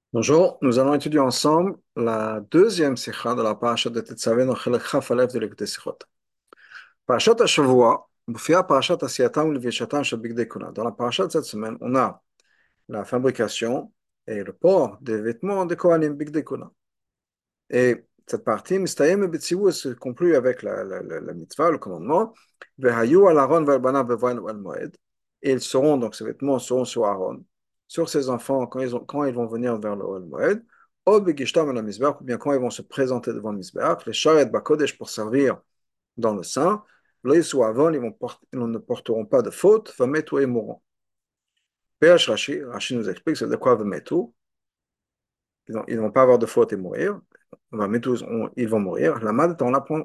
Bonjour, nous allons étudier ensemble la deuxième sikha de la parashat de Tetzaveh, dans Chelek Chaf Aleph de l'Écoute Sikhot. Parashat Hashavua, mufia parashat Asiyatam Levishatam Shel Bigdei Kuna. Dans la parashat de cette semaine, on a la fabrication et le port des vêtements des Kohanim Bigdei Kuna. Et cette partie, Mistayem et Betsivu, se conclut avec la mitzvah, le commandement, Vehayu al Aaron ve'al bevoin al Moed. Et ils seront, donc ces vêtements seront sur Aaron, sur ses enfants quand ils vont venir vers le Moed, ou Begishtam al Mizbeach, ou bien quand ils vont se présenter devant le Mizbeach, les Sharet Bakodesh pour servir dans le sein, Lo Yisou Avon, ils ne porteront pas de faute, Vametu et mourront. PH Rashi nous explique c'est de quoi Vametu, ils ne vont pas avoir de faute et mourir. Ils vont mourir. La Mad, on apprend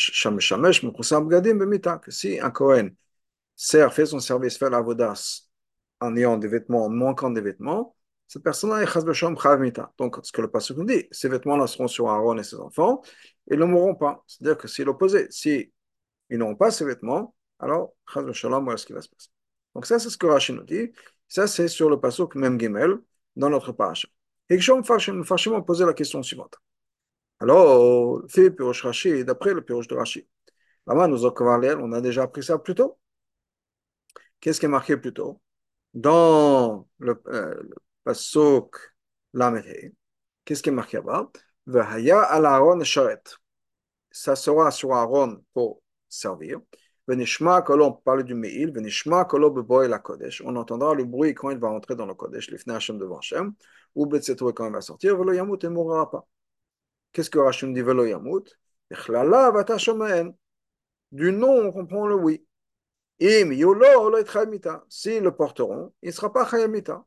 que si un Kohen fait son service, fait la vodasse en ayant des vêtements, en manquant des vêtements, cette personne-là est chas b'shalom chayav mita. Donc, ce que le pasuk nous dit, ces vêtements-là seront sur Aaron et ses enfants, ils ne mourront pas. C'est-à-dire que c'est l'opposé. Si ils n'auront pas ces vêtements, alors chas b'shalom, voilà ce qui va se passer. Donc, ça, c'est ce que Rashi nous dit. Ça, c'est sur le pasuk Mem Gimel dans notre paracha. Et que Mepharshim ont posé la question suivante. Alors, fait Pirosh Rashi, d'après le Pirosh de Rashi. Là-bas, on a déjà appris ça plus tôt. Qu'est-ce qui est marqué plus tôt? Dans le pasuk Lamed, qu'est-ce qui est marqué là-bas? Vehaya al Aaron sharet. Ça sera sur Aaron pour servir. Venishma kolo, on parle du Meil. Venishma kolo beboy la Kodesh. On entendra le bruit quand il va entrer dans le Kodesh, l'ifnei Hashem devant Hashem, ou betzetou quand il va sortir. Velo yamut, il ne mourra pas. Qu'est-ce que Rachim dit Velo yamut? Echlala vata shomaen. Du non, on comprend le oui. Im yolo lo etchayimita. S'ils le porteront, il ne sera pas chayamita.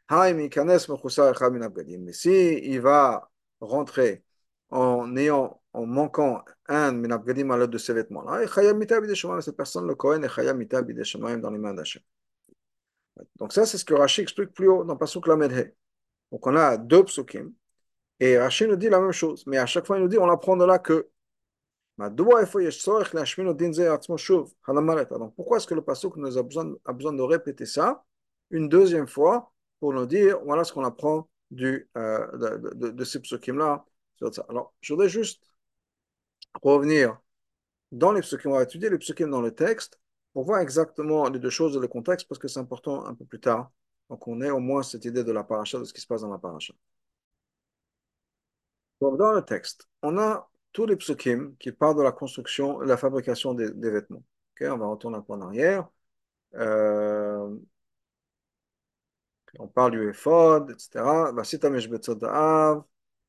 Mais si il va rentrer en manquant un minabgadim à l'aide de ces vêtements-là, cette personne, le Kohen, est chayamita bideshamayim dans les mains d'Hachem. Donc ça, c'est ce que Rashi explique plus haut dans Pasuk Lamed. Donc on a deux psukim, et Rashi nous dit la même chose, mais à chaque fois il nous dit, on apprend de là que donc pourquoi est-ce que le pasuk nous a besoin de répéter ça une deuxième fois pour nous dire voilà ce qu'on apprend de ces psukim-là. Alors, je voudrais juste revenir dans les psukim, on va étudier les psukim dans le texte pour voir exactement les deux choses et le contexte parce que c'est important un peu plus tard. Donc, on ait au moins cette idée de la paracha, de ce qui se passe dans la paracha. Donc, dans le texte, on a tous les psukim qui parlent de la construction et la fabrication des vêtements. Ok, on va retourner un peu en arrière. Euh, on parle du éphod, etc. Vasitamesh betzot da'av.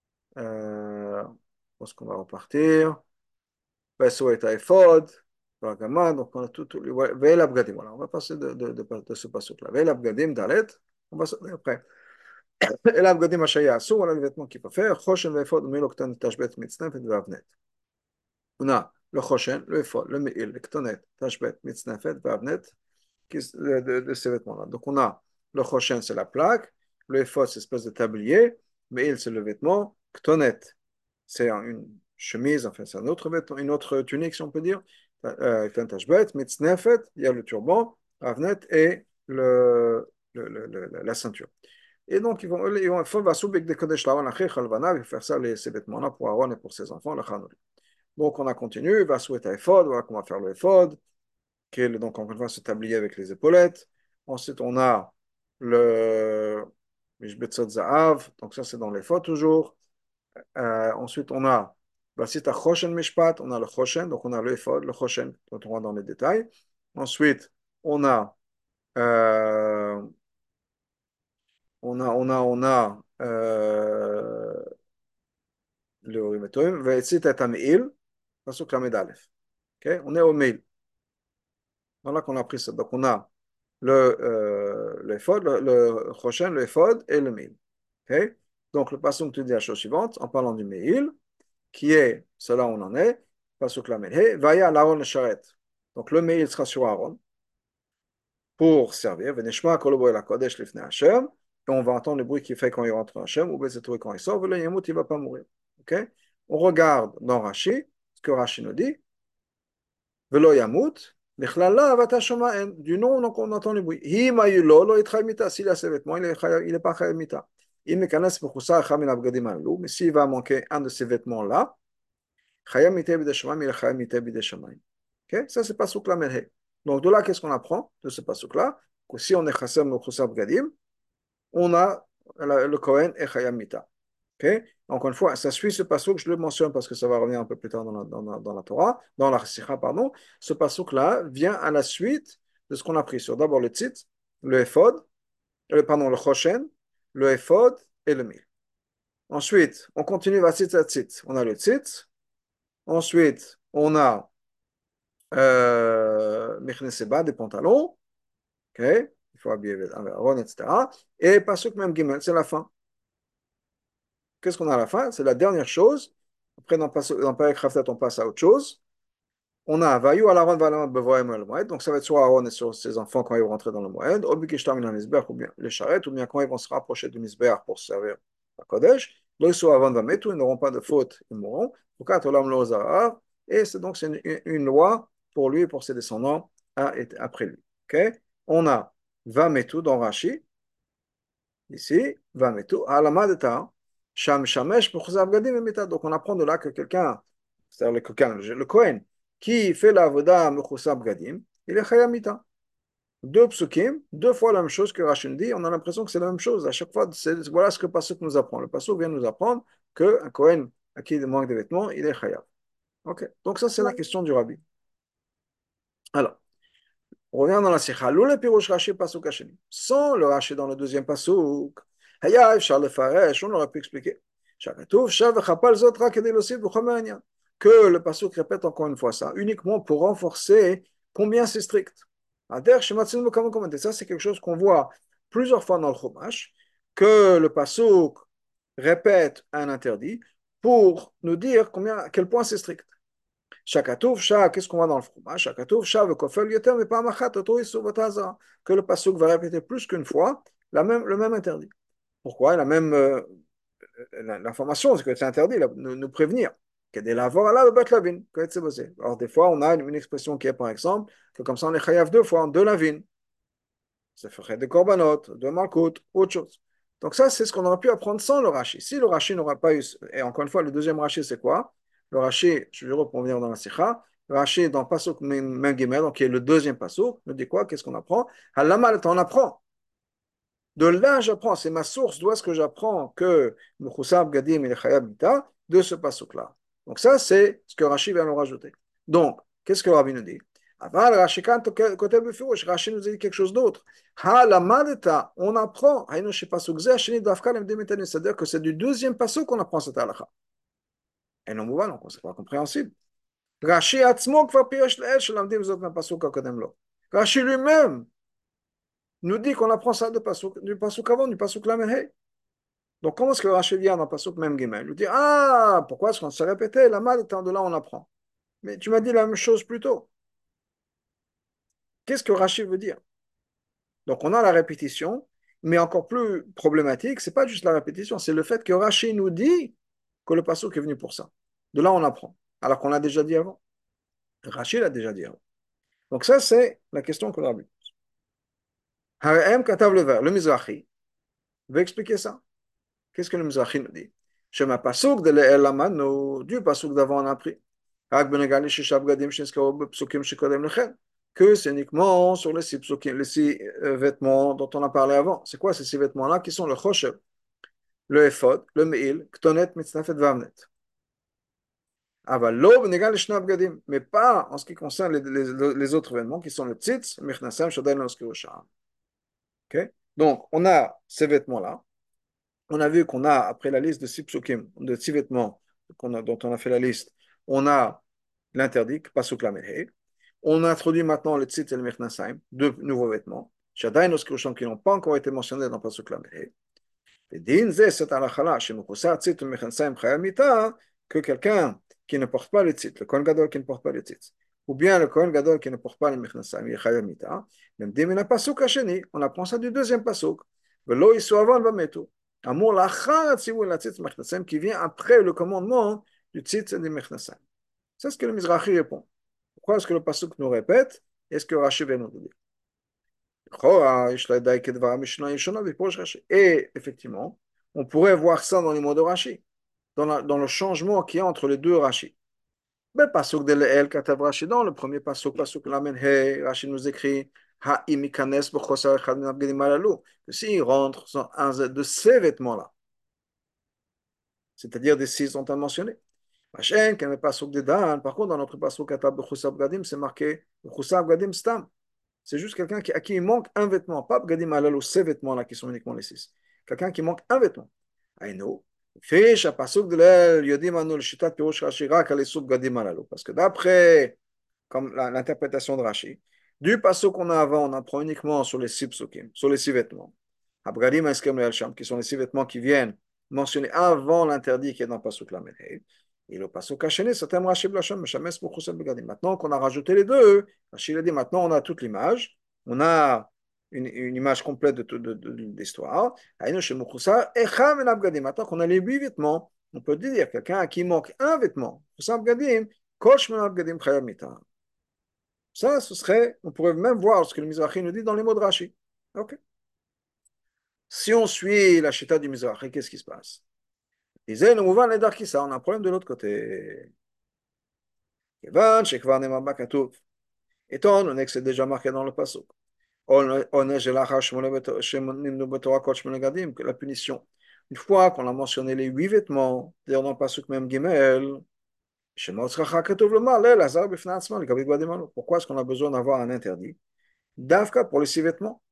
Je pense qu'on va repartir. Vaso et éphod. Donc on a tout Ve'el abgadim. Voilà, on va passer de ce passage-là. Ve'el abgadim dalet. On va sauter après. El abgadim ashaya asu. Voilà les vêtements qu'il faut faire. Choshen ve'ephod miloktan tashbet mitznef et vavnet. On a le Choshen, le Ephod, le Me'il, le Ketonet, Tashbet, Mitznefet, Vavnet, de ces vêtements-là. Donc on a le Choshen, c'est la plaque, le Ephod, c'est une espèce de tablier, Me'il, c'est le vêtement, Ketonet, c'est une chemise, enfin c'est un autre vêtement, une autre tunique, si on peut dire, Tashbet, Mitznefet, il y a le turban, Vavnet et la ceinture. Et donc, ils vont faire faire ça, ces vêtements-là, pour Aaron et pour ses enfants, le Chanol. Donc, on a continué, va souhaiter éphod, voilà comment faire le éphod, qui est donc encore une fois ce tablier avec les épaulettes. Ensuite, on a le Mishbetzot Zahav, donc ça c'est dans l'éphod toujours. Ensuite, on a Basita Choshen Mishpat, on a le Choshen, donc on a le éphod, le Choshen, dont on va dans les détails. Ensuite, on a, euh, le Urimetoim, Ve'etzit et Amil, Pasuk Lamed Aleph. Ok, on est au mail. Voilà qu'on a pris ça. Donc, on a le éphod, le Choshen, le éphod et le mil. Okay? Donc, le passage te dit la chose suivante, en parlant du mil, qui est, cela on en est, passage la He, Vaya l'Aaron le Sharet. Donc, le mil sera sur Aaron pour servir. Venishma kolobo el Kodesh lifnei Hashem. Et on va entendre le bruit qu'il fait quand il rentre en Hashem, ou Bezetou quand il sort, il ne va pas mourir. Okay? On regarde dans Rashi, ce que Rashi nous dit, Velo Yamut, du nom, donc on entend le bruit. S'il a ses vêtements, il n'est pas chayamita. Mais s'il va manquer un de ces vêtements-là, Chayam Mitei B'dei Shamayim, il est Chayam Mitei B'dei Shamayim. Ok? Ça, c'est Pasuk la Melhe. Donc, de là, qu'est-ce qu'on apprend de ce Pasuk-là? Que si on est Chassam Mechusar B'gadim, on a le Kohen et Chayam Mita. Ok? Encore une fois, ça suit ce Pasuk, je le mentionne parce que ça va revenir un peu plus tard dans la Torah, dans la Sikha, pardon. Ce Pasuk-là vient à la suite de ce qu'on a pris sur d'abord le Tzitz, le Ephod, pardon, le Choshen, le Ephod et le Mil. Ensuite, on continue va Tzitz à Tzitz. On a le Tzitz. Ensuite, on a Mechneseba, des pantalons. Ok? Il faut habiller un Aaron, etc. Et Pasuk même Gimel, c'est la fin. Qu'est-ce qu'on a à la fin? C'est la dernière chose. Après, dans Perek Khavtat, on passe à autre chose. On a Vayu al Aaron Valam Bevoim el Moed. Donc, ça va être soit Aaron et sur ses enfants quand ils vont rentrer dans le Moed, ou Bikishtam in Mizbeach, ou bien les charrettes, ou bien quand ils vont se rapprocher du Mizbeach pour se servir à Kodesh. Lo soit Aaron va mettre, ils n'auront pas de faute, ils mourront. Et c'est donc une loi pour lui et pour ses descendants après lui. Okay? On a Vametu dans Rashi, ici, Vametu, Alamadeta, Sham Shamesh, Mechuzar Gadim et Meta. Donc on apprend de là que quelqu'un, c'est-à-dire le Kohen, qui fait la Avoda Mechuzar Gadim, il est Chayamita. Deux psukim, deux fois la même chose que Rachid dit, on a l'impression que c'est la même chose. À chaque fois, voilà ce que le Pasuk nous apprend. Le Pasuk vient nous apprendre qu'un Kohen à qui il manque de vêtements, il est Chayab. Ok, donc ça c'est la question du Rabbi. Alors, on revient dans la Sikha. L'oule pirouche Rashi pasuk hasheni. Sans le Rashi dans le deuxième pasuk, Haya efshar lefaresh, on aurait pu expliquer. Shakatouv shav v'chapal zot rak kedei losif b'chomer hanyan. Que le pasuk répète encore une fois ça, uniquement pour renforcer combien c'est strict. Ader shematzinu b'kamon komandé. Ça, c'est quelque chose qu'on voit plusieurs fois dans le Chumash, que le pasuk répète un interdit pour nous dire à quel point c'est strict. Shakatouf, Shak, qu'est-ce qu'on voit dans le fromage? Shakatouf, Shak, le kofel yoter, mais pas machat, que le pasuk va répéter plus qu'une fois le même interdit. Pourquoi? L'information, c'est que c'est interdit, nous prévenir. Alors, des fois, on a une expression qui est, par exemple, que comme ça, on est chayav deux fois, deux lavines. Ça ferait des corbanotes, deux malkout, autre chose. Donc ça, c'est ce qu'on aurait pu apprendre sans le Rashi. Si le Rashi n'aurait pas eu... Et encore une fois, le deuxième Rashi, c'est quoi? Le Rashi, je vais revenir dans la Sikha, le Rashi dans Pasuk Mem Gimel, donc qui est le deuxième Pasuk, nous dit quoi? Qu'est-ce qu'on apprend? Halamal, on apprend. De là, j'apprends. C'est ma source. D'où est-ce que j'apprends que Mechusab Gadim et Chayab Mita de ce Pasuk-là? Donc ça, c'est ce que Rashi vient nous rajouter. Donc, qu'est-ce que Rabbi nous dit? Aval Rashi quand côté Befirouch, Rashi nous dit quelque chose d'autre. Ha la maleta, on apprend. Haïno chez Pasuk Zeh, Sheni Dafka Lem Demetani, c'est-à-dire que c'est du deuxième Pasuk qu'on apprend cette halakha. Et non, donc c'est pas compréhensible. Rashi Atzmo Kvar Pirosh Leel Shelamdim Zot Ma Pasuk Akodem Lo. Rashi lui-même nous dit qu'on apprend ça du Pasuk avant, du Pasuk Lamed. Donc, comment est-ce que Rashi vient dans Pasuk même Gimel? Il nous dit, ah, pourquoi est-ce qu'on s'est répété? La mal étant de là, on apprend. Mais tu m'as dit la même chose plus tôt. Qu'est-ce que Rashi veut dire? Donc, on a la répétition, mais encore plus problématique, c'est pas juste la répétition, c'est le fait que Rashi nous dit que le Pasuk est venu pour ça. De là, on apprend. Alors qu'on l'a déjà dit avant. Rashi l'a déjà dit avant. Donc, ça, c'est la question qu'on a vue. Harem Katav le Mizrahi, veut expliquer ça. Qu'est-ce que le Mizrahi nous dit? Shema pasuk de l'elamano, du pasuk d'avant on a appris. Que c'est uniquement sur les six psukim, les six vêtements dont on a parlé avant. C'est quoi ces six vêtements-là qui sont le choshev, le ephod, le meil, ktonet, mitznafet, vamnet. Mais pas en ce qui concerne les autres vêtements qui sont le tzitz, michnasem, shodain, loskirusha. Ok? Donc, on a ces vêtements-là. On a vu qu'on a, après la liste de six psukim, de six vêtements dont on a fait la liste, on a l'interdit, pasuk lamelhe. On a introduit maintenant le tzit et le mechnasaim, deux nouveaux vêtements. Shadain oskrusham qui n'ont pas encore été mentionnés dans pasuk lamelhe. Et din zeh c'est alachala, shemukusa tzit et mechnasaim chayamita, que quelqu'un qui ne porte pas le tzit, le kohen gadol qui ne porte pas le tzit, ou bien le kohen gadol qui ne porte pas le mechnasaim, il est chayamita, même dimina pasuk hasheni, on apprend ça du deuxième pasuk. Velo isu avan vametu. Amour lachar tzivou la tzitz mechnasem qui vient après le commandement du tzitz et du mechnasem. C'est ce que le Mizrahi répond. Pourquoi est-ce que le pasuk nous répète? Est-ce que Rashi vient nous dire? Et effectivement, On pourrait voir ça dans les mots de Rashi, dans le changement qu'il y a entre les deux Rashi. Ben, pasuk de l'El katav Rashi, dans le premier pasuk, pasuk lamen he, Rashi nous écrit ha imikanes b'chosar echad min abgedim halalu, que s'il rentre dans un de ces vêtements-là, c'est-à-dire des six dont on a mentionné. Machin, quand même pasuk de Dan, par contre, dans notre pasuk katav b'chosar b'gadim, c'est marqué b'chosar b'gadim stam. C'est juste quelqu'un à qui il manque un vêtement, pas b'gadim halalu, ces vêtements-là qui sont uniquement les six. Quelqu'un qui manque un vêtement. Aïno. Fiche à pasuk de l'El, yodim anu le shitat pirush Rashi rak al esub gadim halalu. Parce que d'après comme l'interprétation de Rashi. Du passo qu'on a avant, on apprend uniquement sur les six psukim, sur les six vêtements. Abgadim Eskem le Sham, qui sont les six vêtements qui viennent mentionner avant l'interdit qui est dans le pasuk Lamed Hey. Et le pasuk Hacheni, c'est un Rashi Blacham, Meshames Bouchusel Begadim. Maintenant qu'on a rajouté les deux, Rashi a dit maintenant on a toute l'image, on a une image complète de l'histoire. Maintenant qu'on a les huit vêtements, on peut dire quelqu'un à qui manque un vêtement, Kosh Menabgadim Chayam Mita. Ça, ce serait, on pourrait même voir ce que le Mizrahi nous dit dans les mots de Rashi. Ok. Si on suit la chita du Mizrahi, qu'est-ce qui se passe? Il disait, on a un problème de l'autre côté. Étant donné que c'est déjà marqué dans le passage. La punition. Une fois qu'on a mentionné les huit vêtements, d'ailleurs dans le passage même Gimel, pourquoi est-ce qu'on a besoin d'avoir un interdit? Davka pour les six vêtements.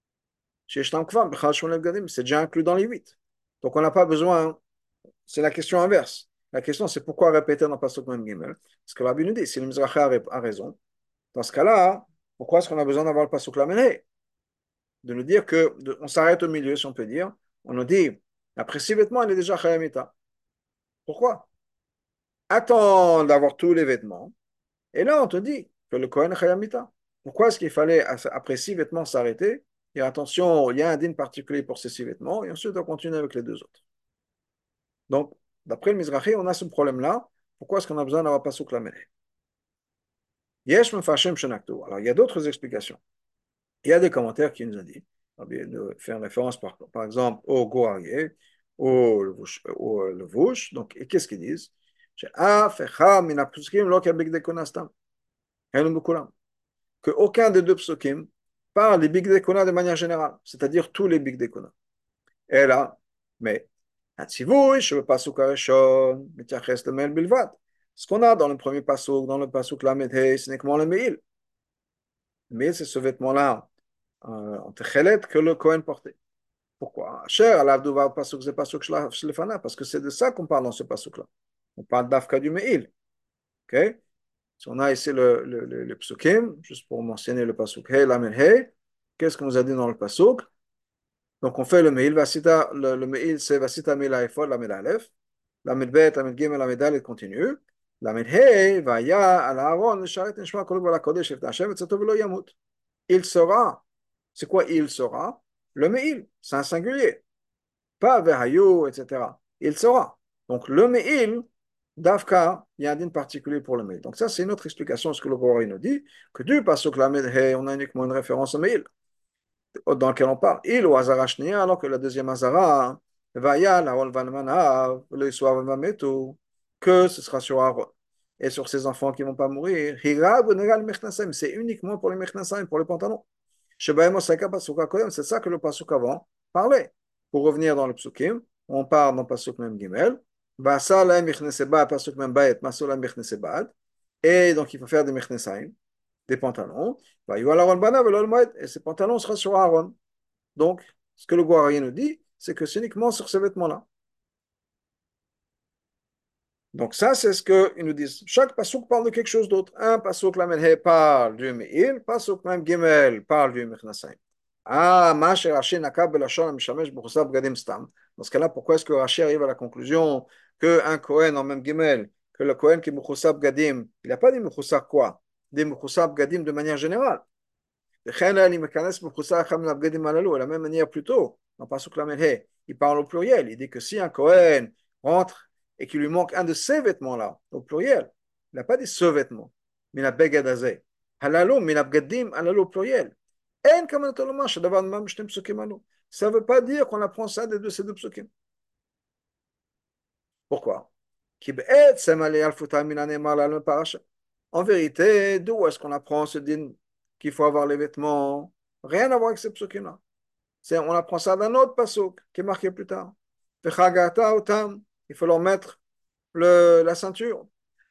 C'est déjà inclus dans les huit. Donc on n'a pas besoin, c'est la question inverse. La question c'est pourquoi répéter dans le Pasuk Mem Gimel? Parce que Rabbi nous dit, si le Mizrahi a raison, dans ce cas-là, pourquoi est-ce qu'on a besoin d'avoir le Pasuk Lamed? De nous dire que, on s'arrête au milieu, si on peut dire, on nous dit, après six vêtements, il est déjà Chayamita. Pourquoi? Attends d'avoir tous les vêtements, et là on te dit que le Kohen est Chayamita. Pourquoi est-ce qu'il fallait, après six vêtements, s'arrêter? Et attention, il y a un din particulier pour ces six vêtements, et ensuite on continue avec les deux autres. Donc, d'après le Mizrahi, on a ce problème-là. Pourquoi est-ce qu'on a besoin d'avoir Pasuk Lamed? Yesh Mefashem Shenaktu. Alors, il y a d'autres explications. Il y a des commentaires qui nous ont dit, de faire référence par exemple au Goarié, au Levush. Donc, et qu'est-ce qu'ils disent? Que aucun des deux psukim parle des Big Dekona de manière générale, c'est-à-dire tous les Big Dekona. Et là, mais הציווי שבפסוק הראשון מתייחס למעיל בלבד. Ce qu'on a dans le premier pasuk, dans le pasuk Lamed Hey, c'est uniquement le Me'il. Le Me'il, c'est ce vêtement-là en Techelet que le Kohen portait. Pourquoi? Cher, alav duvar pasuk, c'est pasuk shlefana, parce que c'est de ça qu'on parle dans ce pasuk-là. On parle d'Afka du Me'il. Ok? Si on a ici le psukim, juste pour mentionner le pasuk Hey, Lamed Hey, qu'est-ce qu'on nous a dit dans le pasuk? Donc on fait le Me'il, le Me'il c'est Vasita Mila Ephod, la Medalef, la Medbet, la Medgimel, la Medal, continue. La Medhei, Vaya, al Aaron, le Sharet, Nishma, Kolok, Vala Kodesh, Efta Hashem, et Velo Yamut. Il sera. C'est quoi il sera? Le Me'il, c'est un singulier. Pas Vehayu, etc. Il sera. Donc le Me'il, Davka, il y a un din particulier pour le Me'il. Donc ça, c'est une autre explication de ce que le Gorari nous dit, que du Pasuk la Medhei, on a uniquement une référence au Me'il dans lequel on parle. Il ou Hazara Shnia, alors que la deuxième Hazara, Vaya, la Volvanmana, le Soir Mametu, que ce sera sur Aaron et sur ses enfants qui ne vont pas mourir. Hirab, Negal, Mechnasem, c'est uniquement pour les Mechnasem, pour les pantalons. Shebaim Osaka, Pasuka Kodem, c'est ça que le Pasuk avant parlait. Pour revenir dans le Psukim, on parle dans le Pasuk Mem Gimel, Vasa la Mechneseba, Pasuk Mem Baet, Masola Mechnesebad, et donc il faut faire des Mechnesaim des pantalons, et ces pantalons seront sur Aaron. Donc, ce que le Guarien nous dit, c'est que c'est uniquement sur ces vêtements-là. Donc ça, c'est ce qu'ils nous disent. Chaque pasouk parle de quelque chose d'autre. Un pasouk, la Menhe, parle du Me'il, pasouk même Gimel parle du Mechnasayim. Ah, Masher Rashi Nakab Belashon Mishamesh B'chusab Gadim Stam. Dans ce cas-là, pourquoi est-ce que Rashi arrive à la conclusion qu'un Kohen en même Gimel, que le Kohen qui est B'chusab Gadim, il n'a pas dit B'chusab quoi? Des B'chusab Gadim de manière générale. De la même manière plus tôt, dans Pasuk Lamed He, il parle au pluriel. Il dit que si un Kohen rentre et qu'il lui manque un de ces vêtements-là, au pluriel, il n'a pas dit ce vêtement, mais la begadazé. Halalo, mais la begadim, halalo au pluriel. Ça ne veut pas dire qu'on apprend ça de ces deux psukim. Pourquoi? En vérité, d'où est-ce qu'on apprend ce din qu'il faut avoir les vêtements? Rien à voir avec ce psukim-là. On apprend ça d'un autre pasuk qui est marqué plus tard. Il faut leur mettre la ceinture.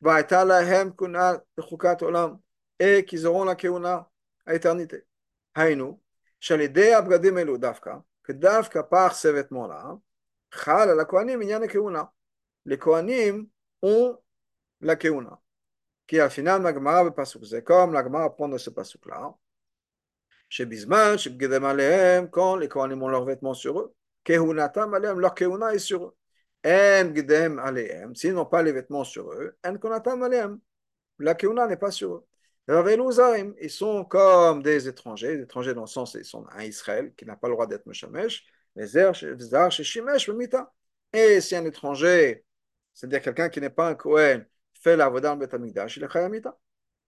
Et qu'ils auront la keuna à éternité. Haïnu, shalidei abgadim elu dafka, que dafka par ces vêtements-là, chal la kohanim inyan keuna. Les kohanim ont la keuna. Qui al final, la Gemara, c'est comme la Gemara apprend de ce pasuk-là. Chez Bisman, chez Bgedem Alehem, quand les Kohanim ont leurs vêtements sur eux, Kehunatam Alehem, leur Kehuna est sur eux. En Bgedem Alehem, s'ils n'ont pas les vêtements sur eux, En Konatam Alehem, la Kehuna n'est pas sur eux. Ils sont comme des étrangers dans le sens, ils sont un Israël qui n'a pas le droit d'être Meshamesh, les Zar, chez Shimesh, Mita. Et si un étranger, c'est-à-dire quelqu'un qui n'est pas un Kohen, fait la Vodan Betamikdash, il est Chayamita.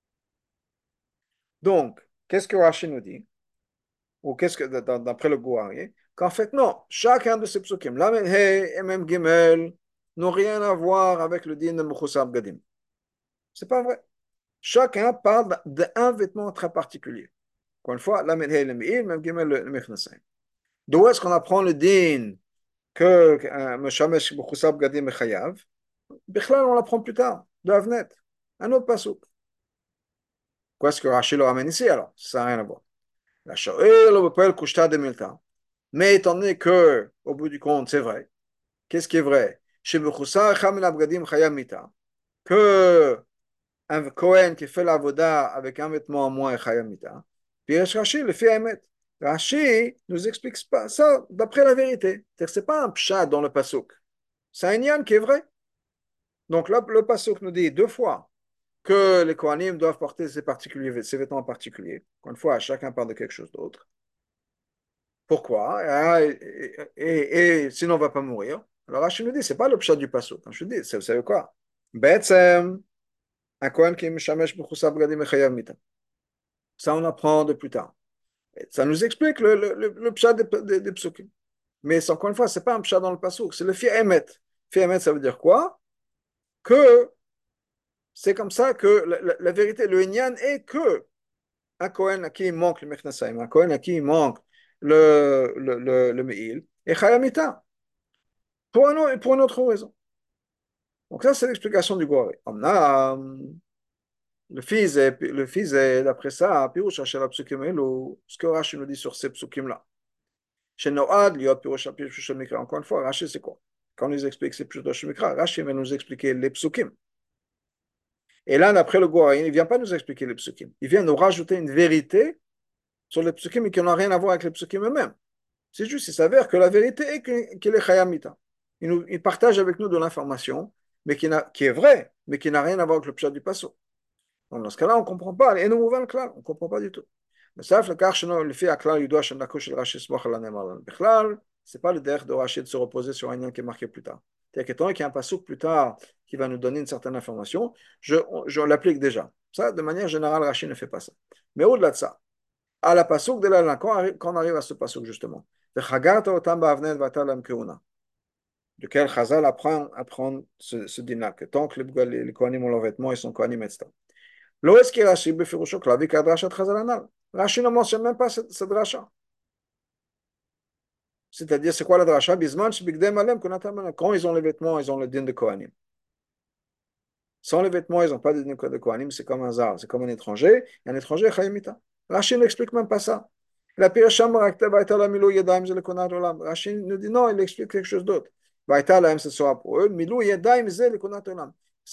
Donc, qu'est-ce que Rashi nous dit? Ou qu'est-ce que, d'après le Gouarier, qu'en fait, non, chacun de ces psukim, Lamed He et même Gimel, n'ont rien à voir avec le din de Mechusar Gadim. C'est pas vrai. Chacun parle d'un vêtement très particulier. Encore une fois, Lamed He le Me'il, même Gimel le Mechnasaim. D'où est-ce qu'on apprend le din que Meshamesh Mechusar Gadim est Chayav? Bichlal, on l'apprend plus tard, de Avnet, un autre pasuk. Qu'est-ce que Rachel le ramène ici alors? Ça n'a rien à voir. La Shoel, on appelle Kushta de Milta. Mais étant donné que, au bout du compte, c'est vrai. Qu'est-ce qui est vrai? Chez Bechoussa, Chamel Abgadim Chayam Mita. Que un Kohen qui fait la voda avec un vêtement en moins est Chayam Mita. Puis Rashi le fait Emet. Rashi nous explique pas ça d'après la vérité. C'est-à-dire que ce n'est pas un pshat dans le pasuk. C'est un yan qui est vrai. Donc là, le pasuk nous dit deux fois que les Kohanim doivent porter ces vêtements particuliers. Encore une fois, chacun parle de quelque chose d'autre. Pourquoi? Et sinon, on ne va pas mourir. Alors Rachid nous dit, ce n'est pas le pshat du pasuk. Je dis, vous savez quoi? Betsem, un Kohen qui mishamesh b'chusab gadim echayav mita. Ça, on apprend de plus tard. Et ça nous explique le pshat des psukim. Mais encore une fois, ce n'est pas un pshat dans le pasuk, c'est le fi emet. Fi emet, ça veut dire quoi? Que c'est comme ça que la vérité, le inyan est que un Kohen à qui il manque le mechnasaim, un Kohen à qui il manque le me'il, et chayamita. Pour une autre raison. Donc ça, c'est l'explication du Gouré. Le fils est, d'après ça, Piroucha chez la psukim ou ce que Rashi nous dit sur ces psukim-là. Chez Noad, liot Piroucha Piroucha Mikra. Encore une fois, Rashi, c'est quoi? Quand on nous explique ces Piroucha Mikra, Rashi va nous expliquer les psukim. Et là, d'après le Gouré, il ne vient pas nous expliquer les psukim. Il vient nous rajouter une vérité sur les psukim et qui n'ont rien à voir avec les psukim eux-mêmes. C'est juste, il s'avère que la vérité est qu'il est chayamita. Il partage avec nous de l'information, mais qui est vraie, mais qui n'a rien à voir avec le pshat du passo. Donc dans ce cas-là, on ne comprend pas. Et nous, on ne comprend pas du tout. Mais ça, le fait à Klal, il doit c'est pas le derrière de Rachid de se reposer sur un lien qui est marqué plus tard. C'est-à-dire qu'étant qu'il y a un passouk plus tard qui va nous donner une certaine information, je l'applique déjà. Ça, de manière générale, Rachid ne fait pas ça. Mais au-delà de ça, à la pasuk de la quand on arrive à ce pasuk justement, duquel Chazal apprend ce dîner, que tant que les Kohanim ont leurs vêtements, ils sont Kohanim, etc. Lo eski Rashi befirusho klavi kadrashat Chazal anal. Rashi ne mentionne même pas cette dracha. C'est-à-dire, c'est quoi la dracha? Bisman shebigdem alem kunatam alem. Quand ils ont les vêtements, ils ont le din de Kohanim. Sans les vêtements, ils n'ont pas de din de Kohanim, c'est comme un zar, c'est comme un étranger, et un étranger chayimita. Rashi n'explique même pas ça. La piracham rakta la milou yadayim ze le konat olam. Rashi nous dit non, il explique quelque chose d'autre. Vaïta lahem, ce sera pour eux, milou yadayim ze le konat olam.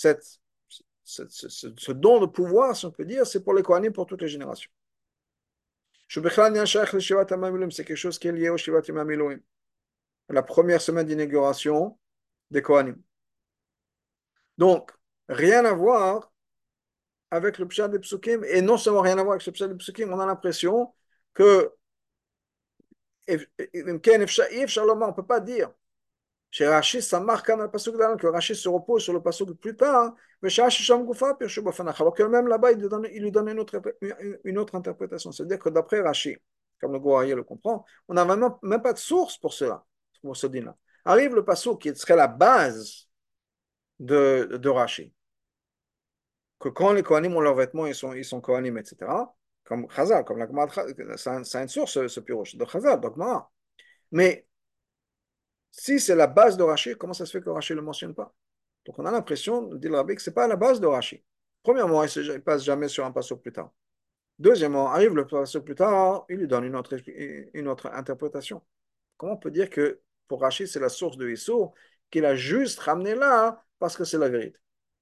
Ce don de pouvoir, si on peut dire, c'est pour les Kohanim pour toutes les générations. C'est quelque chose qui est lié au Shivat Yamam la première semaine d'inauguration des Kohanim. Donc, rien à voir avec le Pshat des Psukim, et non seulement rien à voir avec le Pshat des Psukim, on a l'impression que on ne peut pas dire chez Rashi, ça marque un pasuk d'Alan, que Rashi se repose sur le pasuk plus tard, mais chez Rashi Sham Gufa, alors que même là-bas, il lui donne une autre interprétation. C'est-à-dire que d'après Rashi, comme le Gouraïe le comprend, on n'a même pas de source pour cela, pour ce din-là. Arrive le pasuk qui serait la base de Rashi. Que quand les Kohanim ont leurs vêtements, ils sont Kohanim, etc. Comme Chazal, comme la Gemara, c'est une source, ce pirouche, de Chazal, donc Gemara. Mais si c'est la base de Rashi, comment ça se fait que Rashi ne le mentionne pas? Donc on a l'impression, dit le Rabbi, que ce n'est pas la base de Rashi. Premièrement, il ne passe jamais sur un passage plus tard. Deuxièmement, arrive le passage plus tard, il lui donne une autre interprétation. Comment on peut dire que pour Rashi, c'est la source de Issour, qu'il a juste ramené là parce que c'est la vérité?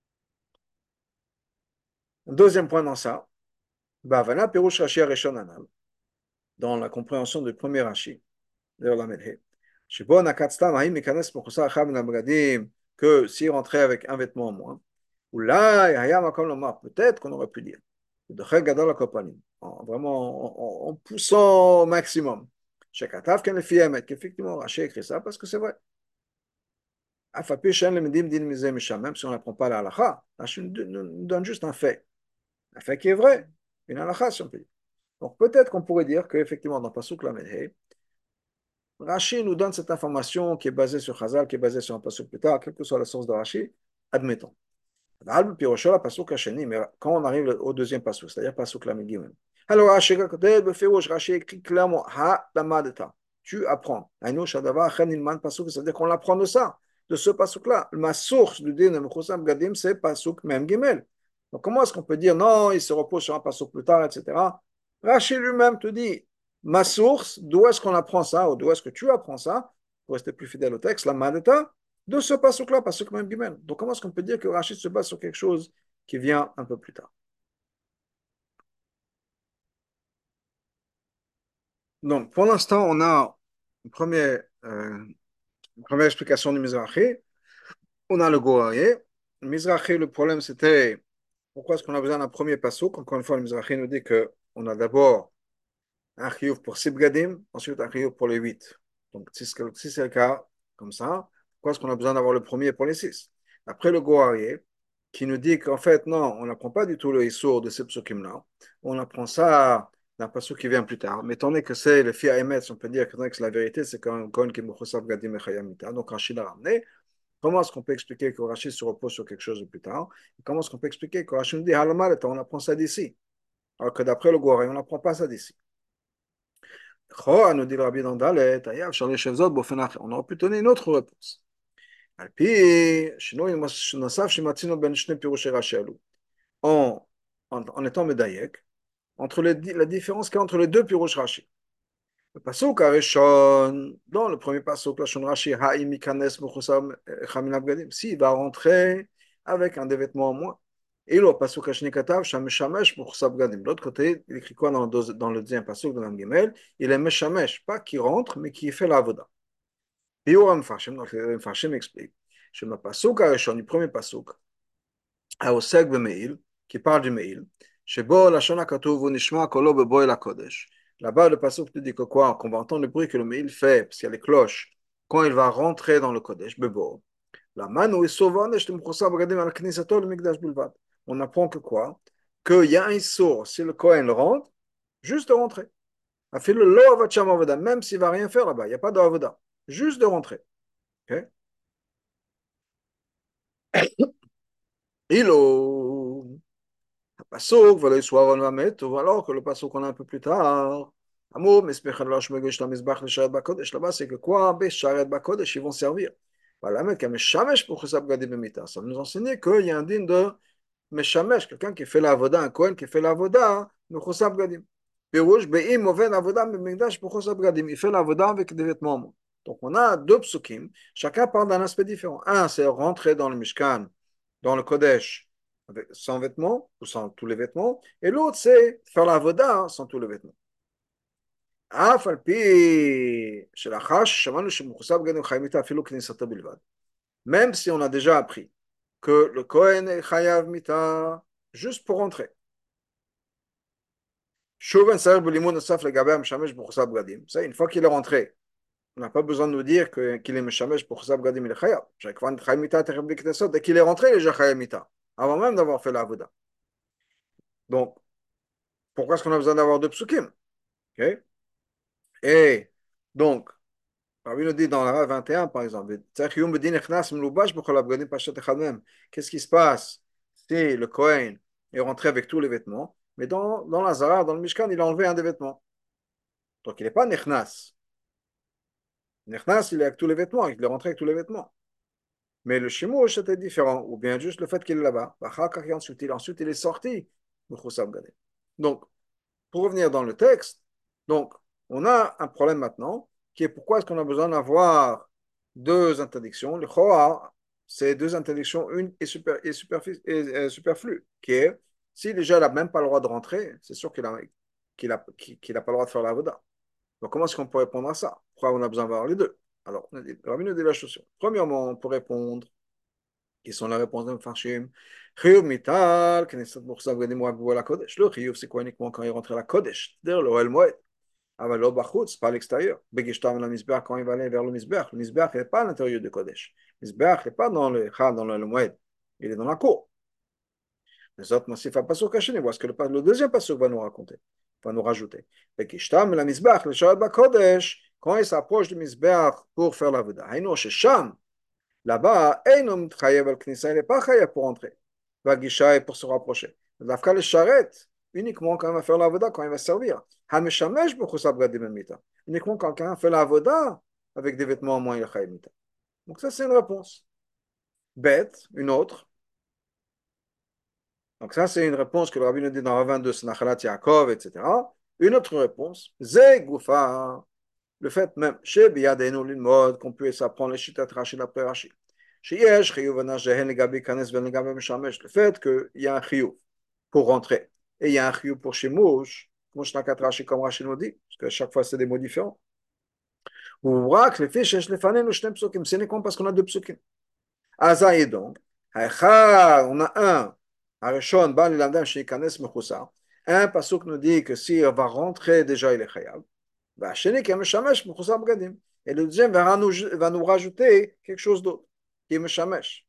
Deuxième point dans ça, Bavana Pirush Rashi Arishon Anal, dans la compréhension du premier Rashi, de la Medhe. Shibon Akatstam Haïm Mikanes Mokusa Acham Nabgadim, que s'il rentrait avec un vêtement en moins, ou là, Hayam Akom Lomar, peut-être qu'on aurait pu dire, de Chel Gadol Akopanim, vraiment en poussant au maximum. Shekatav Ken Lefi Emet, qu'effectivement Rashi écrit ça parce que c'est vrai. Afapi Shen Lemedim Din Mize Misham, même si on n'apprend pas la halakha, Rashi nous donne juste un fait qui est vrai, une halakha si on peut dire. Donc peut-être qu'on pourrait dire qu'effectivement dans Pasuk Lamed Rashi nous donne cette information qui est basée sur Chazal, qui est basée sur un Pasuk plus tard, quelle que soit la source de Rashi, admettons. Mais quand on arrive au deuxième Pasuk, c'est-à-dire Pasuk Lamed Gimel, alors Rashi écrit clairement Ha Lamadeta, tu apprends. C'est-à-dire qu'on apprend de ça, de ce Pasuk-là. Ma source du din de Mechusam Gadim, c'est Pasuk Mem Gimel. Donc comment est-ce qu'on peut dire non, il se repose sur un Pasuk plus tard, etc. Rashi lui-même te dit ma source, d'où est-ce qu'on apprend ça, ou d'où est-ce que tu apprends ça, pour rester plus fidèle au texte, la Madeta, de ce pasuk-là, pasuk même Gimel. Donc comment est-ce qu'on peut dire que Rachid se base sur quelque chose qui vient un peu plus tard? Donc pour l'instant, on a une première explication du Mizrahi. On a le Goraï. Le Mizrahi, le problème c'était pourquoi est-ce qu'on a besoin d'un premier pasuk? Encore une fois, le Mizrahi nous dit qu'on a d'abord un chiyuv pour 6 bgadim, ensuite un chiyuv pour les 8. Donc, si c'est le cas, comme ça, pourquoi est-ce qu'on a besoin d'avoir le premier pour les 6? Après le Goarié, qui nous dit qu'en fait, non, on n'apprend pas du tout le Issour de ces psukim-là. On apprend ça d'un passage qui vient plus tard. Mais étant donné que c'est le Fia Emet, on peut dire que c'est la vérité, c'est qu'un Kohen qui est Mouchosav Gadim Echayamita. Donc, Rachid l'a ramené. Comment est-ce qu'on peut expliquer que Rachid se repose sur quelque chose de plus tard? Et comment est-ce qu'on peut expliquer que Rachid nous dit Halamal, on apprend ça d'ici? Alors que d'après le Goarié, on n'apprend pas ça d'ici. Nous dit le Rabbi dans Dalet, on aurait pu donner une autre réponse. En, en étant médaillek, entre la différence qu'il y a entre les deux pirouches Rashi. Le pasuk Arishon, dans le premier pasuk, la Shon Rashi, Ha'im Mikanes Mechusam Chaminav Gadim, s'il va rentrer avec un des vêtements en moins. Et le pasuk Hashni Katav, Shameshamesh Mechusam Gadim. De l'autre côté, il écrit quoi dans le deuxième pasuk de l'Amgimel? Il est Meshamesh, pas qui rentre, mais qui fait la avoda. Biur Mfashim, donc le Mfashim explique. Je me pasuk Arishon, du premier pasuk, Aosek Bemeil, qui parle du Meil, Shebo Lashon HaKatuv Nishma Kolo Beboel HaKodesh. Là-bas, le passage te dit que quoi? Qu'on va entendre le bruit que le Meil fait, parce qu'il y a les cloches, quand il va rentrer dans le Kodesh, Bebo. La manu est sauvant, on apprend que quoi? Qu'il y a un Issour, si le Kohen rentre, juste de rentrer. Même s'il ne va rien faire là-bas, il n'y a pas de avoda. Juste de rentrer. Okay? Ilo. Pasuk, voilà, soit on va mettre, ou alors que le pasuk qu'on a un peu plus tard. Amour, mais là-bas, c'est que quoi? Bécharet Bakodesh, ils vont servir. Voilà, mais Meshamesh pour Chesab Gadim Bemita. Ça nous enseigne qu'il y a un digne de Meshamesh, quelqu'un qui fait la avoda, un Kohen qui fait la avoda, de Chesab Gadim. Pirouche, Be'im, Oven, Avoda, Memigdash pour Chesab Gadim. Il fait la avoda avec des vêtements. Donc, on a deux psukim, chacun parle d'un aspect différent. Un, c'est rentrer dans le Mishkan, dans le Kodesh, sans vêtements ou sans tous les vêtements, et l'autre c'est faire la voda sans tous les vêtements. Même si on a déjà appris que le Kohen est chayav mita juste pour rentrer. Ça, une fois qu'il est rentré, on n'a pas besoin de nous dire qu'il est meshamesh pour chasab gadim il est chayav. Dès qu'il est rentré, il est déjà chayav mita, avant même d'avoir fait la voda. Donc, pourquoi est-ce qu'on a besoin d'avoir deux psukim? Okay. Et donc, Rabbi nous dit dans la 21, par exemple, qu'est-ce qui se passe si le Kohen est rentré avec tous les vêtements, mais dans la Zara, dans le Mishkan, il a enlevé un des vêtements. Donc il n'est pas Nechnas. Nechnas, il est avec tous les vêtements, il est rentré avec tous les vêtements. Mais le Shimouch, c'était différent, ou bien juste le fait qu'il est là-bas. Ensuite, il est sorti. Donc, pour revenir dans le texte, donc, on a un problème maintenant, qui est pourquoi est-ce qu'on a besoin d'avoir deux interdictions. Le Choa, c'est deux interdictions, une est, superflue, qui est, si déjà il n'a même pas le droit de rentrer, c'est sûr qu'il a pas le droit de faire la voda. Donc, comment est-ce qu'on peut répondre à ça? Pourquoi on a besoin d'avoir les deux? Alors, Rabbi nous dit la chose. Premièrement, pour répondre, qui sont la réponse de Mfarshim. Chiyuv mital, Knesset Mouchsav Gadim Rabou la Kodesh. Le chiyuv, c'est quoi uniquement quand il rentre à la Kodesh, c'est-à-dire le Oel Moed. Aber lo bachutz, pas à l'extérieur. Begishtam la Mizbeach, quand il va aller vers le Mizbeach. Le Mizbeach n'est pas à l'intérieur du Kodesh. Le Mizbeach n'est pas dans le Chal, dans le Oel Moed. Il est dans la cour. Les autres massifs à Pasuk Hachini, voilà ce que le deuxième Pasuk va nous raconter, va nous rajouter. Begishtam la Mizbeach, le Shabbat Kodesh, quand il s'approche du Mizbeach pour faire la Veda. Haïno, Shesham, là-bas, Einom Chayev al Knissa, il n'est pas Chayev pour entrer. Vagisha est pour se rapprocher. L'Afka le charrette, uniquement quand il va faire l'avoda, quand il va servir. Hameshamesh b'chusab gadim mita. Uniquement quand quelqu'un fait l'avoda avec des vêtements en moins il chayev mita. Donc ça, c'est une réponse. Bête, une autre. Donc ça, c'est une réponse que le rabbi nous dit dans Rav 22, Snachalat Yaakov, etc. Une autre réponse, Ze Goufa. Le fait même, chez Biyadenu l'ilmod, qu'on puisse apprendre les chitat Rashi d'après Rashi. Chez Yesh, Chiyuv Anashehen Legabi Kanes Ben Legabi Meshamesh. Le fait qu'il y a un chiyuv pour rentrer et il y a un chiyuv pour Shemouch, Moshnakat Rashi comme Rashi nous dit, parce que chaque fois c'est des mots différents. Ou Rak, les fiches, les fanens, le Shnem Psukim, c'est uniquement parce qu'on a deux Psukim. Azaï donc, on a un, Arishon, Ban Lilandam, chez Kanes Mechoussa. Un pasuk nous dit que s'il va rentrer, déjà il est chayav. Et le deuxième va nous rajouter quelque chose d'autre, qui est Meshamesh.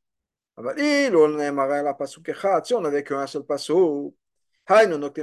Si on n'avait qu'un seul passouk, on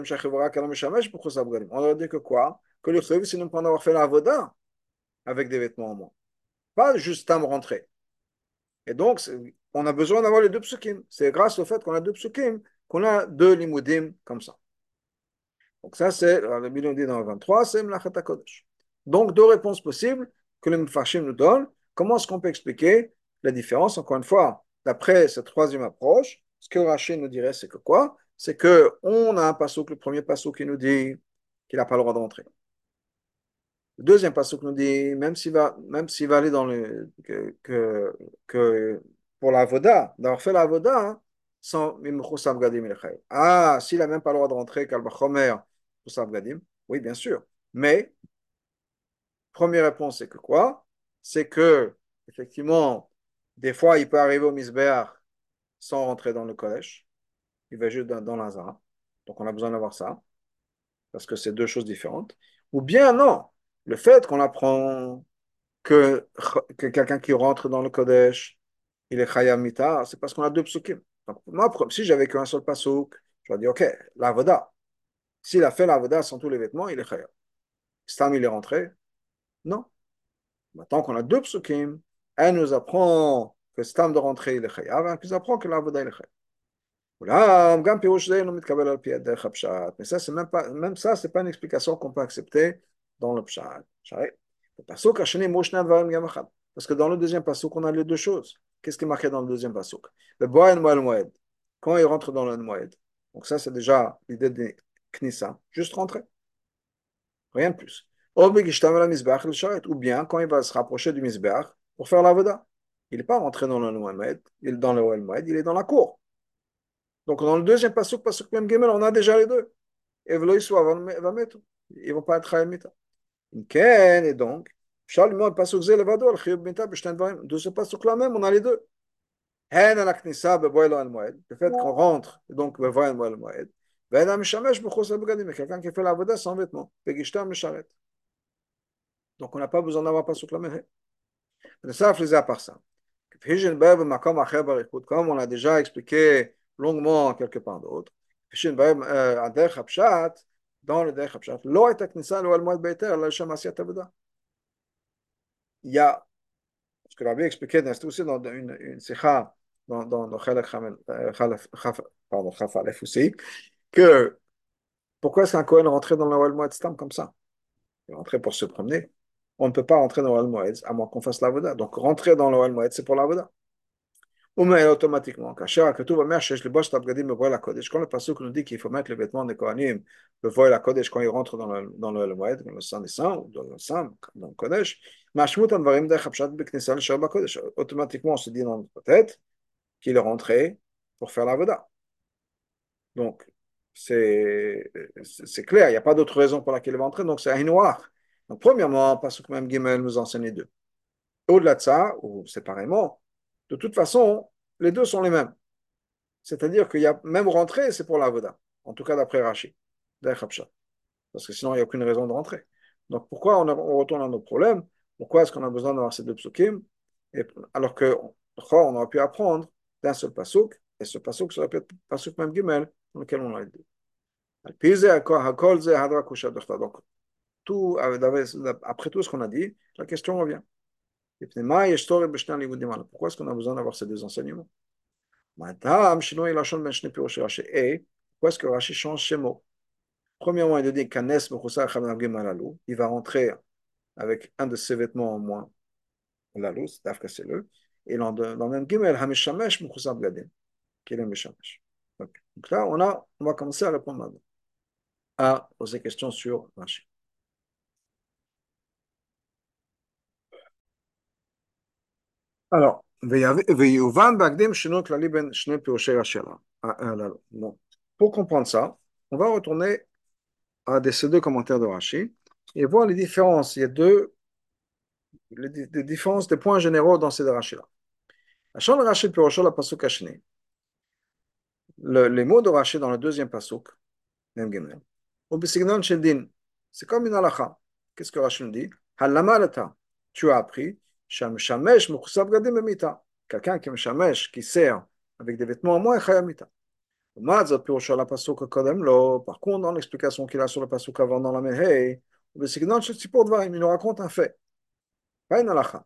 aurait dit que quoi? Que le chayv, c'est ne pas avoir fait la voda avec des vêtements en moins. Pas juste à me rentrer. Et donc, on a besoin d'avoir les deux psukim. C'est grâce au fait qu'on a deux psukim qu'on a deux limoudim comme ça. Donc ça, c'est, le million dit dans le 23, c'est Mlachat HaKodesh. Donc, deux réponses possibles que le Mfarshim nous donne. Comment est-ce qu'on peut expliquer la différence? Encore une fois, d'après cette troisième approche, ce que Rachid nous dirait, c'est que quoi? C'est qu'on a un passouk, le premier passouk qui nous dit qu'il n'a pas le droit d'entrer. Le deuxième passouk nous dit, même s'il va aller dans le, que pour la voda, d'avoir fait la voda, hein, sans Mimchusam Gadim Ilchaï. Ah, s'il n'a même pas le droit de rentrer, Kalbachomer, Mimchusam Gadim, oui, bien sûr. Mais, première réponse, c'est que quoi? C'est que, effectivement, des fois, il peut arriver au Misbéach sans rentrer dans le collège. Il va juste dans l'Azara. Donc, on a besoin d'avoir ça, parce que c'est deux choses différentes. Ou bien, non. Le fait qu'on apprend que quelqu'un qui rentre dans le Kodesh, il est Chayam Mita, c'est parce qu'on a deux psukim. Donc, moi, si j'avais qu'un seul pasuk, je vais dire, OK, l'avoda. S'il a fait l'avoda sans tous les vêtements, il est Chayam. Stam, il est rentré? Non. Maintenant qu'on a deux psukim, elle nous apprend que Stam de rentrer, il est Chayam, et elle nous apprend que l'avoda, il est Chayam. Mais ça, c'est même ça, c'est pas une explication qu'on peut accepter dans le pshat. Parce que dans le deuxième pasuk, on a les deux choses. Qu'est-ce qui est marqué dans le deuxième pasuk? Le boyen moed. Quand il rentre dans le moed. Donc ça, c'est déjà l'idée de knissa. Juste rentrer. Rien de plus. Ou bien quand il va se rapprocher du misbeach pour faire la voda. Il n'est pas rentré dans le moed. Il est dans le moed, il est dans la cour. Donc, dans le deuxième pasuk, pasuk même gimel, on a déjà les deux. Et v'lo yisou va mettre. Ils ne vont pas être mita. Et donc, le pasuk zé levado, al chiyuv mita, b'shten dvarim. De ce pasuk-là même, on a les deux. Hen al knissa beboy al moed. Le fait qu'on rentre, donc beboy al moed. Ven al mishamesh b'chos al begadim. Quelqu'un qui fait la voda sans vêtements. Begishtam misharet. Donc, on n'a pas besoin d'avoir pasuk la même. Ça, faisait à part ça. Comme on a déjà expliqué longuement quelque part d'autre, dans le Derech Hapshat, לא הייתה כניסה לאוהל מועד בהיתר אלא לשם עשיית עבודה. il y a, ce que l'Arabie expliquait, c'est aussi dans une sikha, dans Khalaf, pardon, Khaf Aleph aussi, que pourquoi est-ce qu'un Kohen rentrait dans le Oel Moed Stam comme ça? Il rentrait pour se promener. On ne peut pas rentrer dans le Oel Moed à moins qu'on fasse l'avoda. Donc rentrer dans le Oel Moed, c'est pour l'avoda. Ou mais automatiquement, quand tout va bien, le boss d'Abgadim me voit la Kodesh. Quand le Passouk nous dit qu'il faut mettre les vêtements des Kohanim, le voile la Kodesh quand ils rentrent dans le Moed, dans le Saint des Saints, ou dans le Saint, dans le Kodesh, automatiquement, on se dit dans notre tête qu'il est rentré pour faire l'avoda. Donc, c'est clair, il n'y a pas d'autre raison pour laquelle il va entrer, donc c'est un noir. Donc, premièrement, Pasuk même Gimel nous enseigne les deux. Au-delà de ça, ou séparément, de toute façon, les deux sont les mêmes. C'est-à-dire qu'il y a même rentrer, c'est pour l'avoda. En tout cas, d'après Rashi. Parce que sinon, il n'y a aucune raison de rentrer. Donc, pourquoi on retourne à nos problèmes? Pourquoi est-ce qu'on a besoin d'avoir ces deux psukim? Alors que, on aurait pu apprendre d'un seul pasuk, et ce pasuk serait peut-être pasuk même Gimel, dans lequel on l'a dit. Donc, tout, après tout ce qu'on a dit, la question revient. Pourquoi est-ce qu'on a besoin d'avoir ces deux enseignements? Et pourquoi est-ce que Rashi change ces mots? Premièrement, il dit il va rentrer avec un de ses vêtements en moins, lalou, c'est le, et dans le même gimel, Hamishamesh Mechusar Bgadim, qui est le Mishamesh. Donc là, on va commencer à répondre maintenant à poser questions sur Rashi. Alors, bon. Pour comprendre ça, on va retourner à ces deux commentaires de Rashi et voir les différences. Il y a des différences, des points généraux dans ces deux Rashi-là. Les mots de Rashi dans le deuxième pasuk, même Gimel, c'est comme une halakha. Qu'est-ce que Rashi nous dit? Halamalata, tu as appris, Shamshamesh Mechusab Gadim Emita. Quelqu'un qui me shamesh, qui sert avec des vêtements en moins, Chayamita. Par contre, dans l'explication qu'il a sur le pasuk avant dans la Mehei, il nous raconte un fait. Pas une halakha.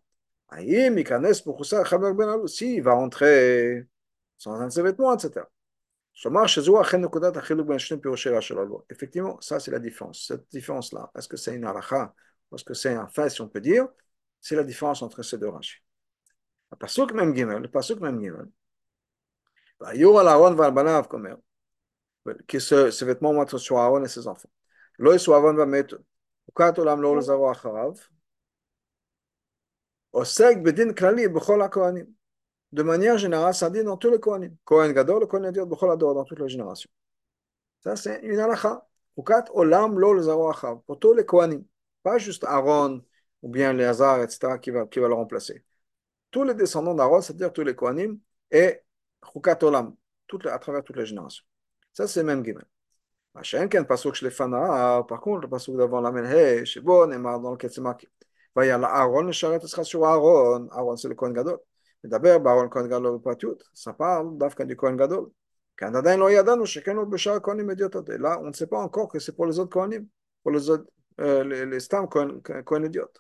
Si il va rentrer sans un de ses vêtements, etc. Effectivement, ça c'est la différence. Cette différence-là, est-ce que c'est une halakha, est-ce que c'est un fait, si on peut dire, c'est la différence entre ces deux rachis. Le pasuk même gimel, que ces vêtements vont être sur Aaron et ses enfants. Lo yisou Aaron va mettre ukat olam lo lezaro acharav, osek bedin klali b'chol hakohanim. De manière générale, ça dit dans tous les kohanim. Kohen gadol, le kohen idiot, b'chol ador, dans toutes les générations. Ça, c'est une halakha. Ukat olam lo lezaro acharav. Pour tous les kohanim. Pas juste Aaron ou bien les Hazar, etc., qui va le remplacer. Tous les descendants d'Aaron, c'est-à-dire tous les kohanim, et ukat olam, à travers toutes les générations. Ça, c'est même Gimel. Par contre, le pasuk d'avant la Menhe, c'est bon, Neymar dans le Ketsemaki. Il y a Aaron, le charret sera sur Aaron. Aaron, c'est le Kohen Gadol. Mais d'abord, Aaron, Kohen Gadol, pas tout. Ça parle d'Afka du Kohen Gadol. Canada, il y a d'un chacun autre Béchar Kohen immédiatement. Et là, on ne sait pas encore que c'est pour les autres Kohanim, pour les autres, les Stam Kohen idiotes.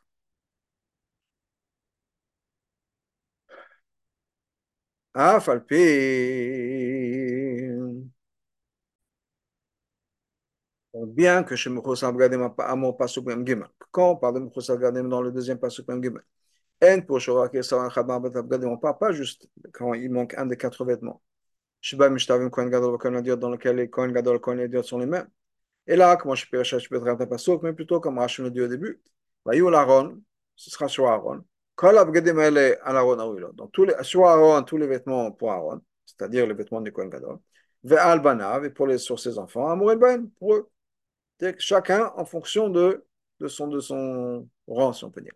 Ah, Falpi. Bien que chez Moukhous Abgadim à mon pasuk même Gimel. Quand on parle de Moukhous Abgadim dans le deuxième pasuk même Gimel. On ne parle pas juste quand il manque un des quatre vêtements. Shiba Mishtavim Kohen Gadol Kohen Idiot dans lequel les Kohen Gadol et Kohen Idiot sont les mêmes. Et là, comment je peux être un pasuk, mais plutôt comme Rachel le dit au début. Vayoul Aaron, ce sera sur Aaron. Kol Abgadim ele al Aaron Aouilo. Donc sur Aaron, tous les vêtements pour Aaron, c'est-à-dire les vêtements du Kohen Gadol. Ve'al Banav, et sur ses enfants, Amour Ben, pour eux. Chacun en fonction de son rang, si on peut dire.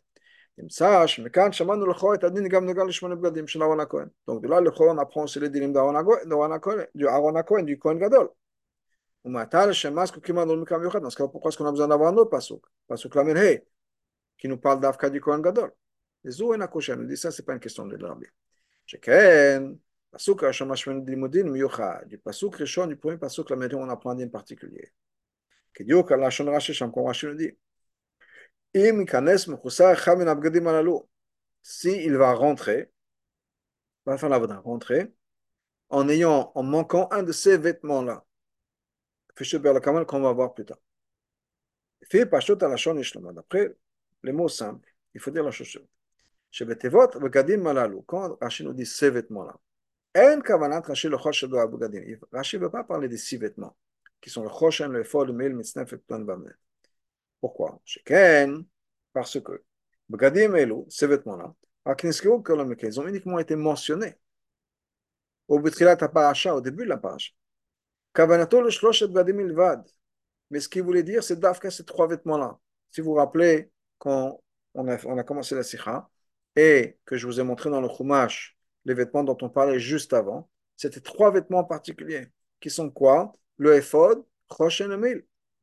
Donc de là, le Chor, on apprend aussi les dilim d'Aaron Cohen, du Cohen Gadol. Dans ce cas, pourquoi est-ce qu'on a besoin d'avoir un autre pasuk? Pasuk Lamed Hey, qui nous parle d'Afka du Cohen Gadol. Les Zou en Akosha nous dit ça, c'est pas une question de l'Arabie. Sheken, pasuk Rishon Mashmen Limudin Miyucha, du pasuk Rishon, du premier pasuk Lamed Hey, on apprend un din particulier. Qui dit au Kalashon Rashi, comme Rashi nous dit. Im ikanes mechusar echad min abgadim halalu. Si il va rentrer, va faire la rentrer, en manquant un de ces vêtements-là. Fichu ber la qu'on va voir plus tard. Fi pashut alashon ishlama. D'après les mots simples, il faut dire la chose suivante. Shebetevot v'gadim malalu. Quand Rashi nous dit ces vêtements-là, en kavanat Rashi le choshen do abgadim. Rashi ne veut pas parler des 6 vêtements, qui sont le choshen, le ephod, le mil, mitznef et plan bamnet. Pourquoi? Sheken, parce que bgadim elu, ces vêtements-là, akniskeu kolomeke, ils ont uniquement été mentionnés au betrilat parasha, au début de la parasha. Kavanato le shloshet bgadim ilvad. Mais ce qu'il voulait dire, c'est d'Afka ces 3 vêtements-là. Si vous vous rappelez, quand on a commencé la sikha, et que je vous ai montré dans le Chumash les vêtements dont on parlait juste avant, c'était 3 vêtements particuliers, qui sont quoi? Le ephod, Chosh et le mil.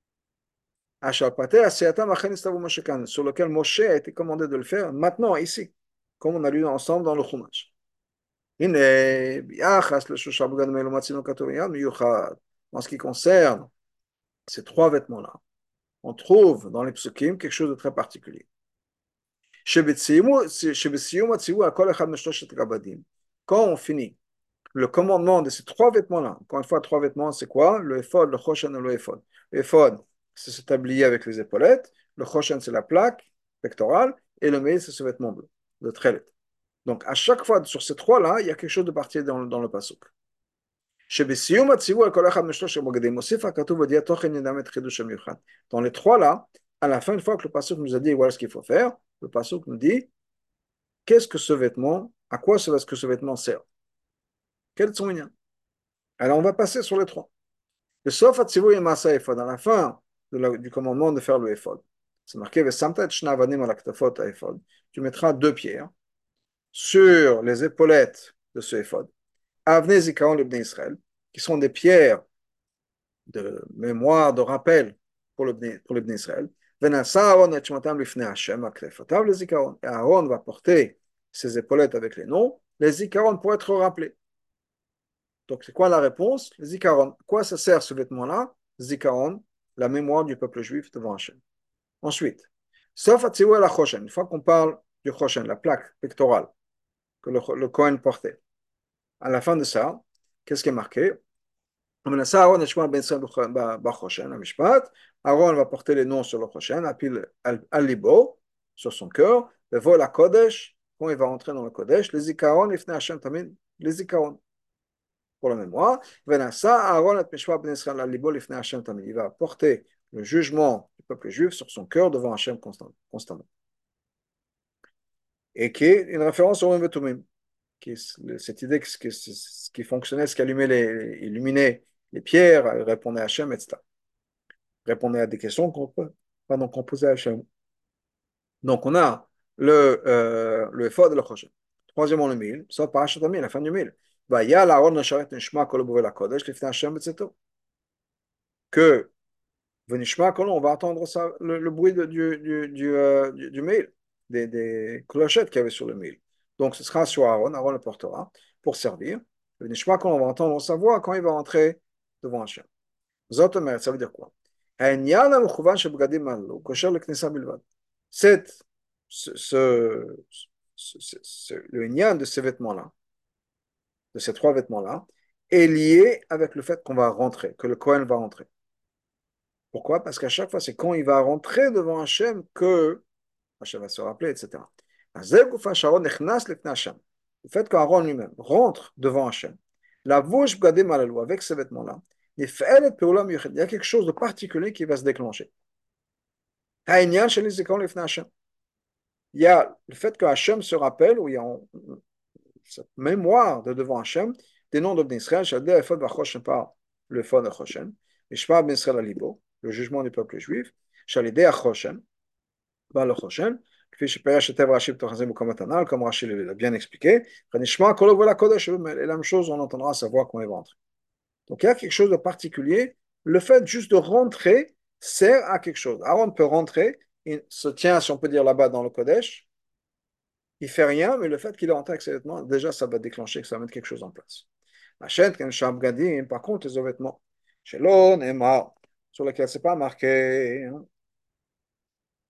Sur lequel Moshe a été commandé de le faire maintenant, ici, comme on a lu ensemble dans le Chumash. En ce qui concerne ces 3 vêtements-là, on trouve dans les psukim quelque chose de très particulier. Quand on finit le commandement de ces 3 vêtements-là, encore une fois, 3 vêtements, c'est quoi? Le ephod, le choshen et le ephod. Le ephod, c'est ce tablier avec les épaulettes. Le choshen, c'est la plaque pectorale. Et le mail, c'est ce vêtement bleu, le trélet. Donc, à chaque fois, sur ces 3-là, il y a quelque chose de particulier dans le pasuk. Dans les 3-là, à la fin, une fois que le pasuk nous a dit voilà ce qu'il faut faire, le pasuk nous dit qu'est-ce que ce vêtement, à quoi est-ce que ce vêtement sert? Quel est son lien? Alors, on va passer sur les 3. Le sauf atzivu et masa ephod, à la fin du commandement de faire le ephod. C'est marqué Vesamta et shna avanim al aktafot ephod. Tu mettras 2 pierres sur les épaulettes de ce ephod. Avnei zikaron l'ibn Israël, qui sont des pierres de mémoire, de rappel pour l'ibn Israël. Venasa Aaron et shmatam lifnei Hashem aktefotav le zikaron. Et Aaron va porter ses épaulettes avec les noms, les zikaron pour être rappelés. Donc, c'est quoi la réponse? Zikaron. Quoi ça sert ce vêtement-là? Zikaron, la mémoire du peuple juif devant Hachem. Ensuite, sauf à la Choshen, une fois qu'on parle du Choshen, la plaque pectorale que le Kohen portait, à la fin de ça, qu'est-ce qui est marqué? Aaron va porter les noms sur le Choshen, al-libo, sur son cœur, le vol à Kodesh, quand il va rentrer dans le Kodesh, les Zikaron, les Zikaron pour la mémoire. Il va porter le jugement du peuple juif sur son cœur devant Hachem constamment. Et qui est une référence au Vetumim, cette idée que ce qui fonctionnait, ce qui illuminait les pierres, répondait à Hachem, etc. Répondait à des questions qu'on posait à Hachem. Donc on a le effort de la prochaine. Troisièmement, le mille, ça parachat mille, la fin du mille. Que Venishma Kolon, on va entendre ça, le bruit du mail, des clochettes qu'il y avait sur le mail. Donc ce sera sur Aaron, Aaron le portera pour servir. Venishma Kolon, on va entendre sa voix quand il va entrer devant Hachem. Zotomer, ça veut dire quoi? C'est le lien de ces vêtements-là, de ces 3 vêtements-là, est lié avec le fait qu'on va rentrer, que le Kohen va rentrer. Pourquoi? Parce qu'à chaque fois, c'est quand il va rentrer devant Hachem que Hachem va se rappeler, etc. Le fait qu'Aaron lui-même rentre devant Hachem, la bouche bgadé malalou, avec ces vêtements-là, il y a quelque chose de particulier qui va se déclencher. Il y a le fait que Hachem se rappelle, où il y a cette mémoire de devant Hachem, des noms d'Ibn Israël, par le fond de Choshen, Mishpah Ben Israël Alibo, le jugement du peuple juif, Shalidé Choshen, par le Choshen, comme Rachid l'a bien expliqué, et la même chose, on entendra sa voix quand il va entrer. Donc il y a quelque chose de particulier, le fait juste de rentrer sert à quelque chose. Aaron peut rentrer, il se tient, si on peut dire là-bas dans le Kodesh, il fait rien, mais le fait qu'il est rentré avec ses vêtements, déjà ça va déclencher, que ça va mettre quelque chose en place. Par contre, les vêtements, sur lesquels c'est pas marqué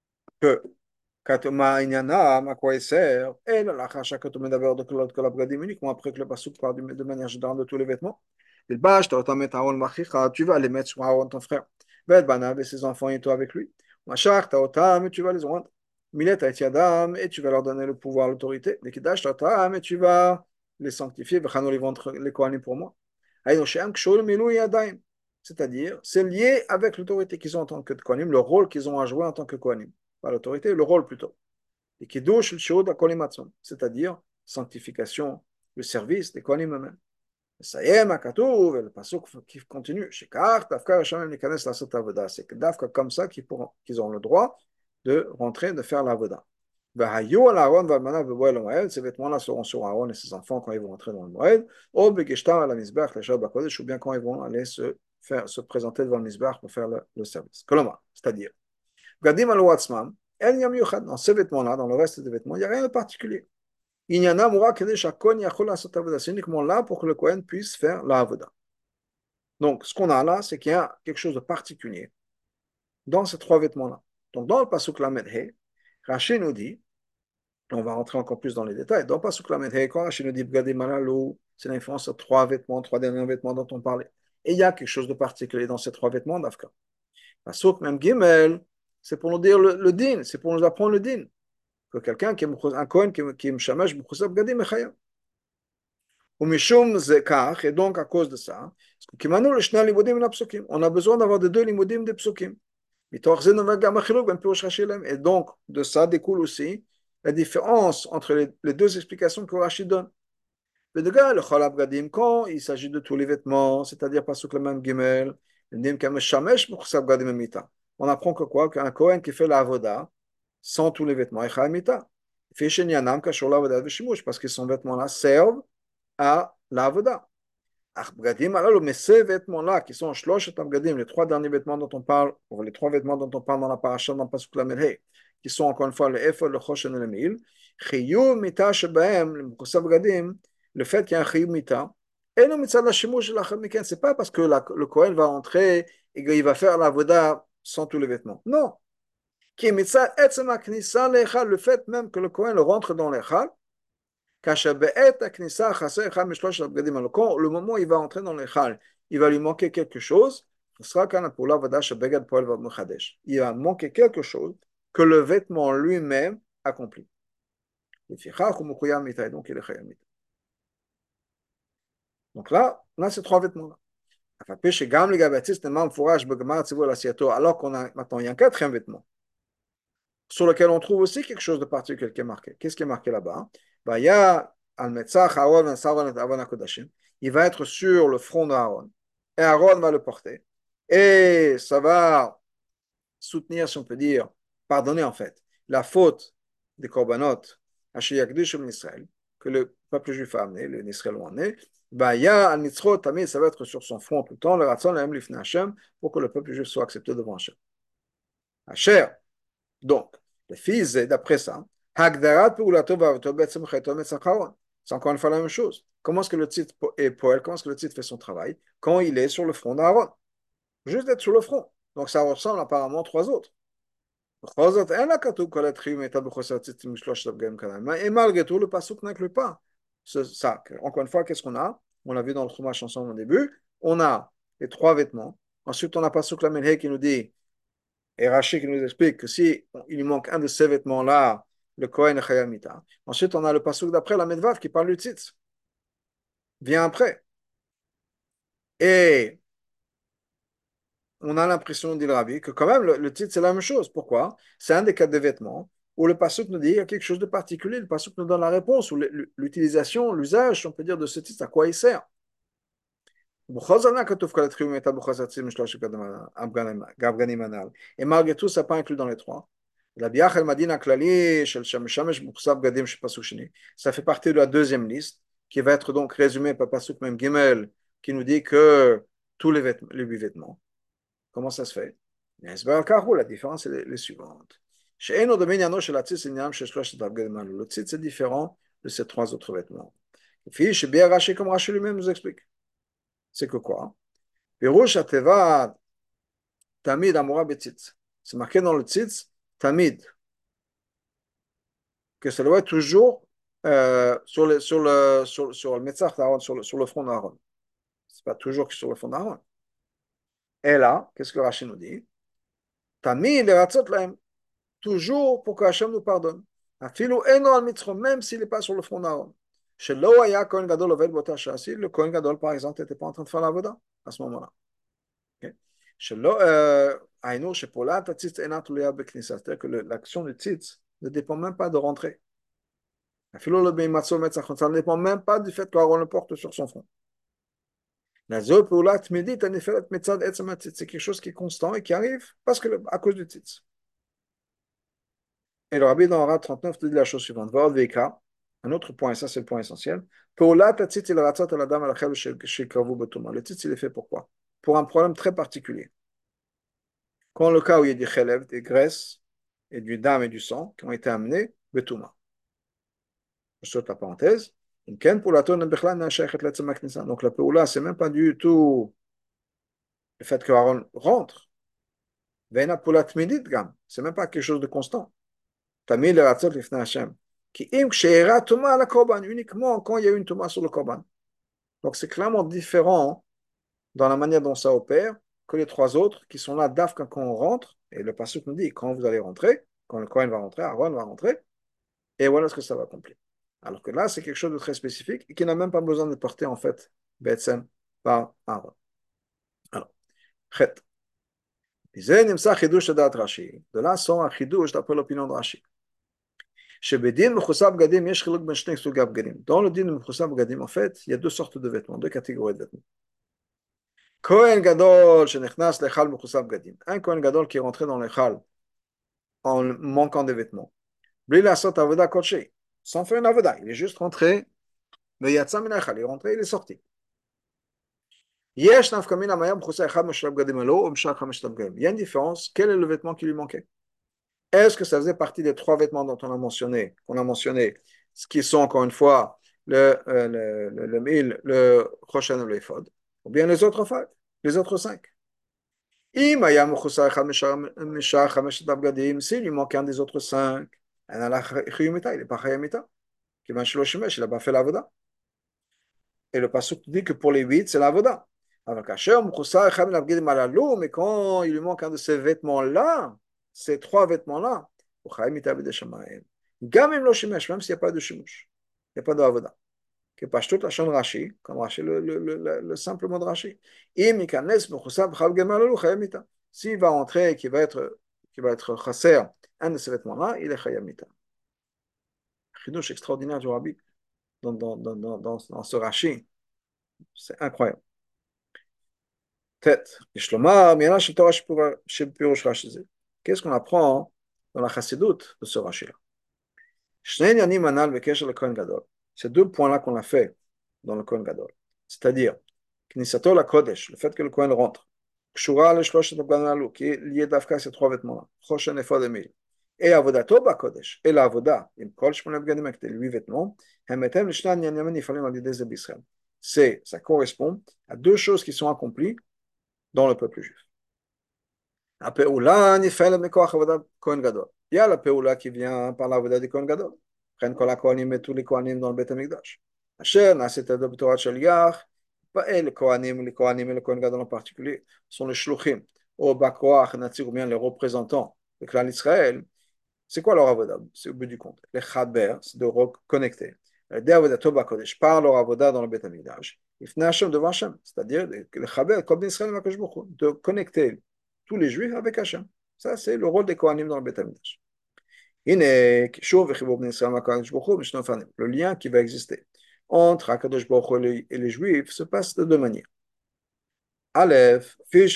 que Katoma Inyana, à quoi il sert, et la chacha Katoma d'abord de la Bgadim uniquement après que le Pasuk parle de manière générale de tous les vêtements. Il bâche, tu vas les mettre sur Aaron, ton frère. Bet Banav et ses enfants et toi avec lui. Machar, Taotam, et tu vas les rendre. Milet Yadam, et tu vas leur donner le pouvoir, l'autorité. Les Kidash, Taotam, et tu vas les sanctifier. Vechano les vendre les Kohanim pour moi. Aïnoshem, Kshol, Milou, Yadaim. C'est-à-dire, c'est lié avec l'autorité qu'ils ont en tant que Kohanim, le rôle qu'ils ont à jouer en tant que Kohanim. Pas l'autorité, le rôle plutôt. Et Kiddush, le Shod, c'est-à-dire sanctification, le service des Kohanim eux-mêmes. Sayem, Akatouv, le pasuk qui continue, Shekar, Tafka, Hashem, Nikanes, la Sot Avoda. C'est que Dafka, comme ça, qu'ils ont le droit de rentrer, de faire l'Avoda. Vahayu al Aaron, Valmana, Bevoel, Moed, ces vêtements-là seront sur Aaron et ses enfants quand ils vont rentrer dans le Moed, ou Begeshtar, à la Mizbach, la Shabbat Kodesh, ou bien quand ils vont aller se présenter devant le Mizbach pour faire le service. Koloma, c'est-à-dire, Gadim al Watzman, El Yam Yuchad, dans ces vêtements-là, dans le reste des vêtements, il n'y a rien de particulier. Il y en a Moura Kadesh Akon Yachol la Sot Avoda. C'est uniquement là pour que le Kohen puisse faire la Avoda. Donc, ce qu'on a là, c'est qu'il y a quelque chose de particulier dans ces trois vêtements-là. Donc, dans le Pasuk Lamed He, Rashi nous dit, on va rentrer encore plus dans les détails, dans le Pasuk Lamed He, quand Rashi nous dit Bgadim Alalou, c'est l'influence sur trois vêtements, trois derniers vêtements dont on parlait. Et il y a quelque chose de particulier dans ces trois vêtements d'Afka. Pasuk même Gimel, c'est pour nous dire le din, c'est pour nous apprendre le din. Que quelqu'un qui est un Kohen qui est Mshamash B'chusab Bgadim Echayam. Ou Mishum Zekach, et donc à cause de ça, on a besoin d'avoir des deux limodim des psukim. Et donc, de ça découle aussi la différence entre les deux explications que Rashi donne. Quand il s'agit de tous les vêtements, c'est-à-dire pas sous le même gimel, on apprend que quoi? Qu'un Kohen qui fait la avoda sans tous les vêtements, parce que son vêtement-là servent à la avoda. Mais ces vêtements-là, qui sont les trois derniers vêtements dont on parle, ou les trois vêtements dont on parle dans la paracha, dans le pasuk Lamed, qui sont encore une fois le Ephod, le Choshen et le Mil, le fait qu'il y a un Chiyuv Mita, et le Mitzad Hashimush c'est pas parce que le Kohen va entrer et qu'il va faire la voda sans tous les vêtements. Non. Qui est Mitzad Etzema Knissa Lechal, le fait même que le Kohen rentre dans l'Echal, le moment où il va entrer dans l'Echal, il va lui manquer quelque chose. Il va manquer quelque chose que le vêtement lui-même accomplit. Donc il est chayamit. Donc là, c'est trois vêtements. Alors qu'on a maintenant, il y a un quatrième vêtement sur lequel on trouve aussi quelque chose de particulier qui est marqué. Qu'est-ce qui est marqué là-bas? Il y a il va être sur le front d'Aaron. Et Aaron va le porter. Et ça va soutenir, si on peut dire, pardonner en fait, la faute des korbanot Israël, que le peuple juif a amené, les Israël ont amené. Il y a al-mitzrot, tamid, ça va être sur son front tout le temps, le ratzon, le lifnei Hashem, pour que le peuple juif soit accepté devant Hashem. Hashem. Donc, le fils, d'après ça, c'est encore une fois la même chose. Comment est-ce que le titre est poël? Comment est-ce que le titre fait son travail? Quand il est sur le front d'Aaron. Juste d'être sur le front. Donc, ça ressemble apparemment aux trois autres. Et malgré tout, le pasuk n'inclut pas ça. Encore une fois, qu'est-ce qu'on a? On l'a vu dans le Chumash ensemble au début. On a les trois vêtements. Ensuite, on a pasuk la Menhe qui nous dit, et Rashi qui nous explique que si il lui manque un de ces vêtements-là, le Kohen est Chayamita. Ensuite, on a le pasuk d'après, la Medvav, qui parle du tzitz. Vient après. Et on a l'impression, dit le Rabbi, que quand même, le titre, c'est la même chose. Pourquoi? C'est un des cas de vêtements où le pasuk nous dit qu'il y a quelque chose de particulier. Le pasuk nous donne la réponse, ou l'utilisation, l'usage, on peut dire, de ce titre, à quoi il sert. Et malgré tout, ça n'est pas inclus dans les trois. Ça fait partie de la deuxième liste, qui va être donc résumée par Pasuk même Gimel, qui nous dit que tous les huit vêtements. Comment ça se fait? La différence est les suivantes. Le titre, c'est différent de ces trois autres vêtements. Comme Rashi lui-même nous explique. C'est que quoi? Tamid Amora Betzitz. C'est marqué dans le tzitz, Tamid. que ça doit être toujours sur le Metzach d'Aaron, sur le front d'Aaron. Ce n'est pas toujours sur le front d'Aaron. Et là, qu'est-ce que Rachid nous dit? T'as mis les ratzot lahem, toujours pour que Hachem nous pardonne. Afilu eno al mitzro, même s'il n'est pas sur le front d'Aaron. Chez Loaya, Kohen Gadol Oved Bota Shasi, le Kohen Gadol, par exemple, n'était pas en train de faire la voda à ce moment-là. Okay. Chez Paula, ta tzitz enat luya beknisa, c'est-à-dire que l'action du tzitz ne dépend même pas de rentrer. Afilu le beimatzo metzachon, ça ne dépend même pas du fait qu'Aaron le porte sur son front. La zo Paula tmidit, en effet, c'est quelque chose qui est constant et qui arrive parce que à cause du tzitz. Et le rabbi dans Hara 39 te dit la chose suivante. Un autre point, et ça c'est le point essentiel. Le tzitz, il est fait pourquoi? Pour un problème très particulier. Quand le cas où il y a des chelev, des graisses, et du dam et du sang qui ont été amenés, betouma. Je saute la parenthèse. Donc la peoula, c'est même pas du tout le fait que Aaron rentre. C'est même pas quelque chose de constant. Tamil Ratzot Lifnei Hashem. Qui im ksheira tuma à la korban, uniquement quand il y a une tuma sur le korban. Donc c'est clairement différent dans la manière dont ça opère que les trois autres qui sont là d'Afka quand on rentre. Et le pasuk nous dit quand vous allez rentrer, quand le Kohen va rentrer, Aaron va rentrer, et voilà ce que ça va accomplir. Alors que là, c'est quelque chose de très spécifique et qui n'a même pas besoin de porter en fait Betsem par Aaron. Alors, Chet. De là sort un chidouche d'après l'opinion de Rashi. Dans le din Mechusab Gadim, en fait, il y a deux sortes de vêtements, deux catégories de vêtements. Kohen Gadol, Shenechnas Lechal Mechusab Gadim. Un Kohen Gadol qui est rentré dans l'Echal en manquant des vêtements. Bli Lasot Avoda Kodesh. Sans faire une Avoda. Il est juste rentré, mais Yatsa Min Echal. Il est rentré, il est sorti. Yesh Nafkamina Mayam Mechusab Echad Meshulav Gadim Elo, Meshach HaMeshulav Gadim. Il y a une différence. Quel est le vêtement qui lui manquait? Est-ce que ça faisait partie des trois vêtements dont qu'on a mentionné, ce qui sont encore une fois le mil, le Choshen et le Ephod, ou bien les autres cinq? S'il lui manque un des autres cinq, il n'est pas chayamita, il n'a pas fait l'avoda. Et le pasuk dit que pour les huit, c'est l'avoda. Mais quand il lui manque un de ces vêtements-là, ces trois vêtements-là, même s'il n'y a pas de shimush, il n'y a pas d'avoda. Que pas toute la chaîne Rashi, comme Rashi, le simple mot de Rashi. S'il va entrer et qu'il va être chasser un de ces vêtements-là, il est chayamita. Chidouche extraordinaire du Rabbi dans ce Rashi. C'est incroyable. Tête. Qu'est-ce qu'on apprend dans la chassidoute de ce Rashi-là? Ces deux points-là qu'on a fait dans le Kohen Gadol, c'est-à-dire Knisato la Kodesh, le fait que le Kohen rentre, Kshura le Shloshet Abganalu, qui est lié d'Afka ces trois vêtements-là, Choshen Ephod et Mil, et Avodato ba Kodesh, et la Avoda, im Kol Shmonev Gadim avec les huit vêtements, Hemetem Lishnan Yanyaman Yifalim Alidez Bisrael. Ça correspond à deux choses qui sont accomplies dans le peuple juif. La Peoula Nifel Mekoach Avodat Kohen Gadol. Il y a la Peoula qui vient par l'Avoda du Kohen Gadol. Prennent Kol HaKohanim et tous les Kohanim dans le Beth HaMikdash. Asher Naset Adab Torah Shaliach, pas les Kohanim et le Kohen Gadol en particulier, sont les Shluchim, ou Bakoach, Natsir, ou bien les représentants de clan d'Israël. C'est quoi leur Avoda? C'est au bout du compte. Les Chaber, c'est de reconnecter. Les Avoda Toba Kodesh, par leur Avoda dans le Beth HaMikdash. Ifna Hashem devant Hashem, c'est-à-dire les Chaber, comme d'Israël, de connecter tous les Juifs avec Hashem. Ça, c'est le rôle des Kohanim dans le Beth HaMikdash. Le lien qui va exister entre Akadosh Baruch Hu et les Juifs se passe de deux manières. Aleph, il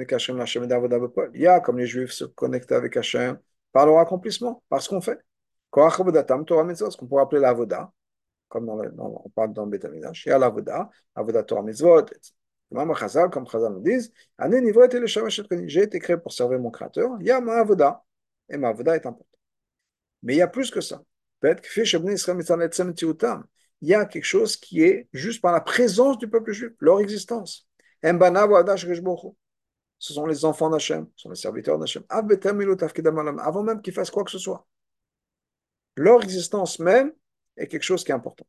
y a comme les Juifs se connectent avec Hashem par leur accomplissement, par ce qu'on fait. Ce qu'on pourrait appeler l'avoda, comme on parle dans le Beth HaMikdash. Il y a l'avoda, avoda Torah Mitzvot, etc. Comme Chazal nous disent, j'ai été créé pour servir mon Créateur. Il y a ma avoda, et ma avoda est importante. Mais il y a plus que ça. Il y a quelque chose qui est juste par la présence du peuple juif, leur existence. Ce sont les enfants d'Hachem, ce sont les serviteurs d'Hachem. Avant même qu'ils fassent quoi que ce soit. Leur existence même est quelque chose qui est important.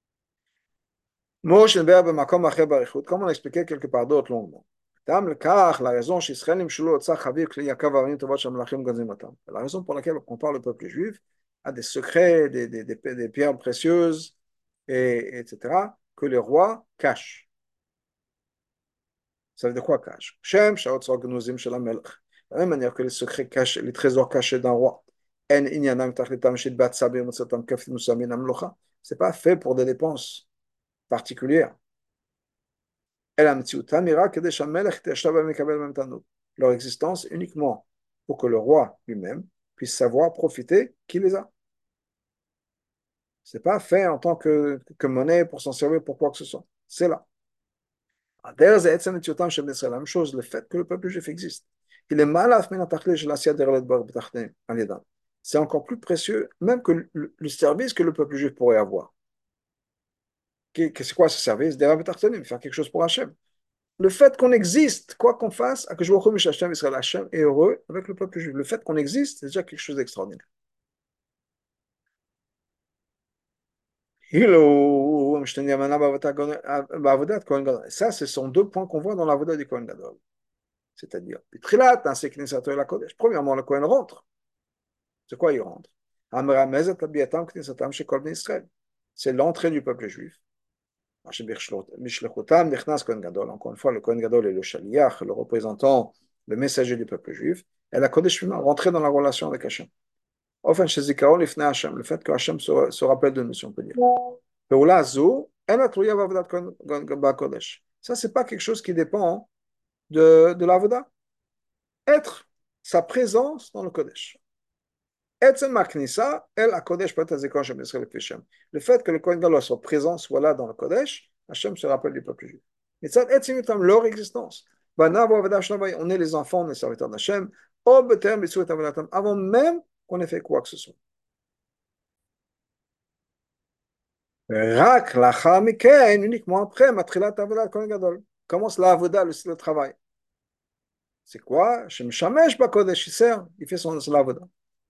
Comme on l'expliquait quelque part d'autre longuement. La raison la raison pour laquelle on parle du peuple juif a des secrets, des pierres précieuses, etc., que les rois cachent. Ça veut dire quoi cache? De la même manière que les secrets cachés, les trésors cachés d'un roi. C'est pas fait pour des dépenses particulières. Leur existence uniquement pour que le roi lui-même puisse savoir profiter qui les a. C'est pas fait en tant que monnaie pour s'en servir pour quoi que ce soit. C'est là. La même chose, le fait que le peuple juif existe. Il est malaf c'est encore plus précieux même que le service que le peuple juif pourrait avoir. C'est quoi ce service? Faire quelque chose pour Hachem. Le fait qu'on existe, quoi qu'on fasse, Hachem est heureux avec le peuple juif. Le fait qu'on existe, c'est déjà quelque chose d'extraordinaire. Ça, ce sont deux points qu'on voit dans la Voda du Kohen Gadol. C'est-à-dire, premièrement, le Kohen rentre. C'est quoi il rentre? C'est l'entrée du peuple juif. Encore une fois, le Kohen Gadol est le Shaliach, le représentant, le messager du peuple juif. Et la Kodesh rentrer dans la relation avec Hachem. Le fait que Hachem se rappelle de nous, si on peut dire. Ça, c'est pas quelque chose qui dépend de l'avoda. Être sa présence dans le Kodesh. Le fait que le Kohen Gadol soit présent, soit là dans le Kodesh, Hachem se rappelle du peuple juif. Mais ça, leur existence. On est les enfants, on est les serviteurs d'Hachem, avant même qu'on ait fait quoi que ce soit. Uniquement après, commence la avoda, le travail. C'est quoi? Il fait son avoda.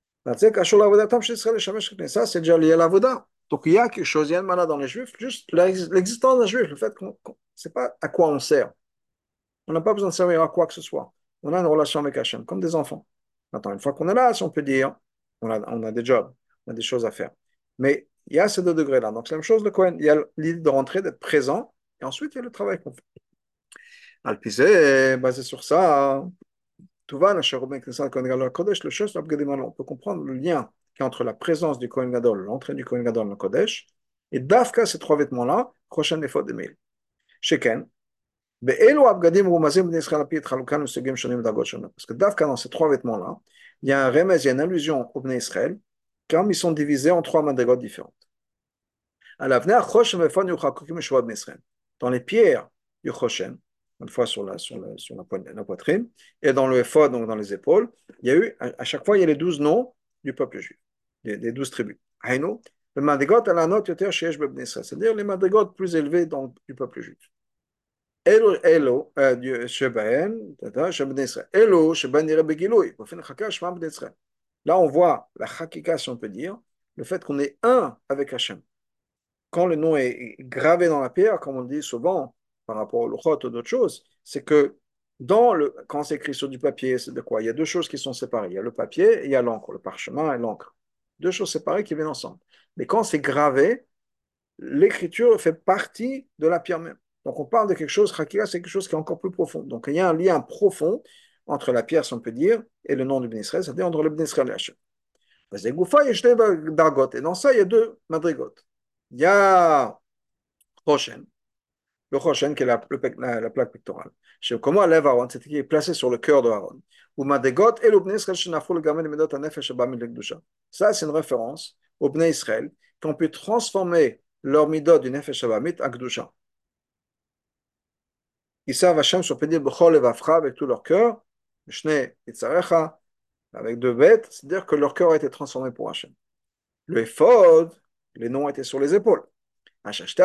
Ça, c'est déjà lié à l'avoda. Donc il y a quelque chose, il y a une malade dans les juifs, juste l'existence d'un juif, le fait qu'on ne sait pas à quoi on sert. On n'a pas besoin de servir à quoi que ce soit. On a une relation avec Hachem, comme des enfants. Maintenant, une fois qu'on est là, si on peut dire, on a des jobs, on a des choses à faire. Mais il y a ces deux degrés-là. Donc c'est la même chose, le Cohen. Il y a l'idée de rentrer, d'être présent, et ensuite il y a le travail qu'on fait. Alpisé, basé sur ça, tout va, on peut comprendre le lien qui est entre la présence du Kohen Gadol, l'entrée du Kohen Gadol dans le Kodesh, et Dafka, ces trois vêtements-là, prochaine des fautes de mail. Sheken, parce que Dafka, dans ces trois vêtements-là, il y a un remez, il y a une allusion au Bnei Israël, comme ils sont divisés en trois madrigotes différentes. Dans les pierres du Choshen, une fois sur la poitrine, et dans le éphod, donc dans les épaules, il y a eu, à chaque fois, il y a les 12 noms du peuple juif, des 12 tribus. Haïno, le madrigot à la note c'est-à-dire les madrigots plus élevés du peuple juif. Elo, là, on voit la chakika, si on peut dire, le fait qu'on est un avec Hachem. Quand le nom est gravé dans la pierre, comme on dit souvent par rapport au luchot ou d'autres choses, c'est que quand c'est écrit sur du papier, c'est de quoi? Il y a deux choses qui sont séparées. Il y a le papier et il y a l'encre, le parchemin et l'encre. Deux choses séparées qui viennent ensemble. Mais quand c'est gravé, l'écriture fait partie de la pierre même. Donc on parle de quelque chose, Chakira, c'est quelque chose qui est encore plus profond. Donc il y a un lien profond entre la pierre, si on peut dire, et le nom du Ben Israël, c'est-à-dire entre le Ben Israël et Hachem. Et dans ça, il y a deux madrigotes. Il y a Choshen, le Choshen qui est la plaque pectorale. Comment lève Aaron, c'est qui est placé sur le cœur de Aaron. Ça, c'est une référence au Bnei Israël qu'on peut transformer leur midot du Nefesh Abamit à Gdusha. Ils servent Hachem sur Pédir Bechol et Vafra avec tout leur cœur, Shne Itzarecha, avec deux bêtes, c'est-à-dire que leur cœur a été transformé pour Hachem. Le Ephod, les noms étaient sur les épaules. C'était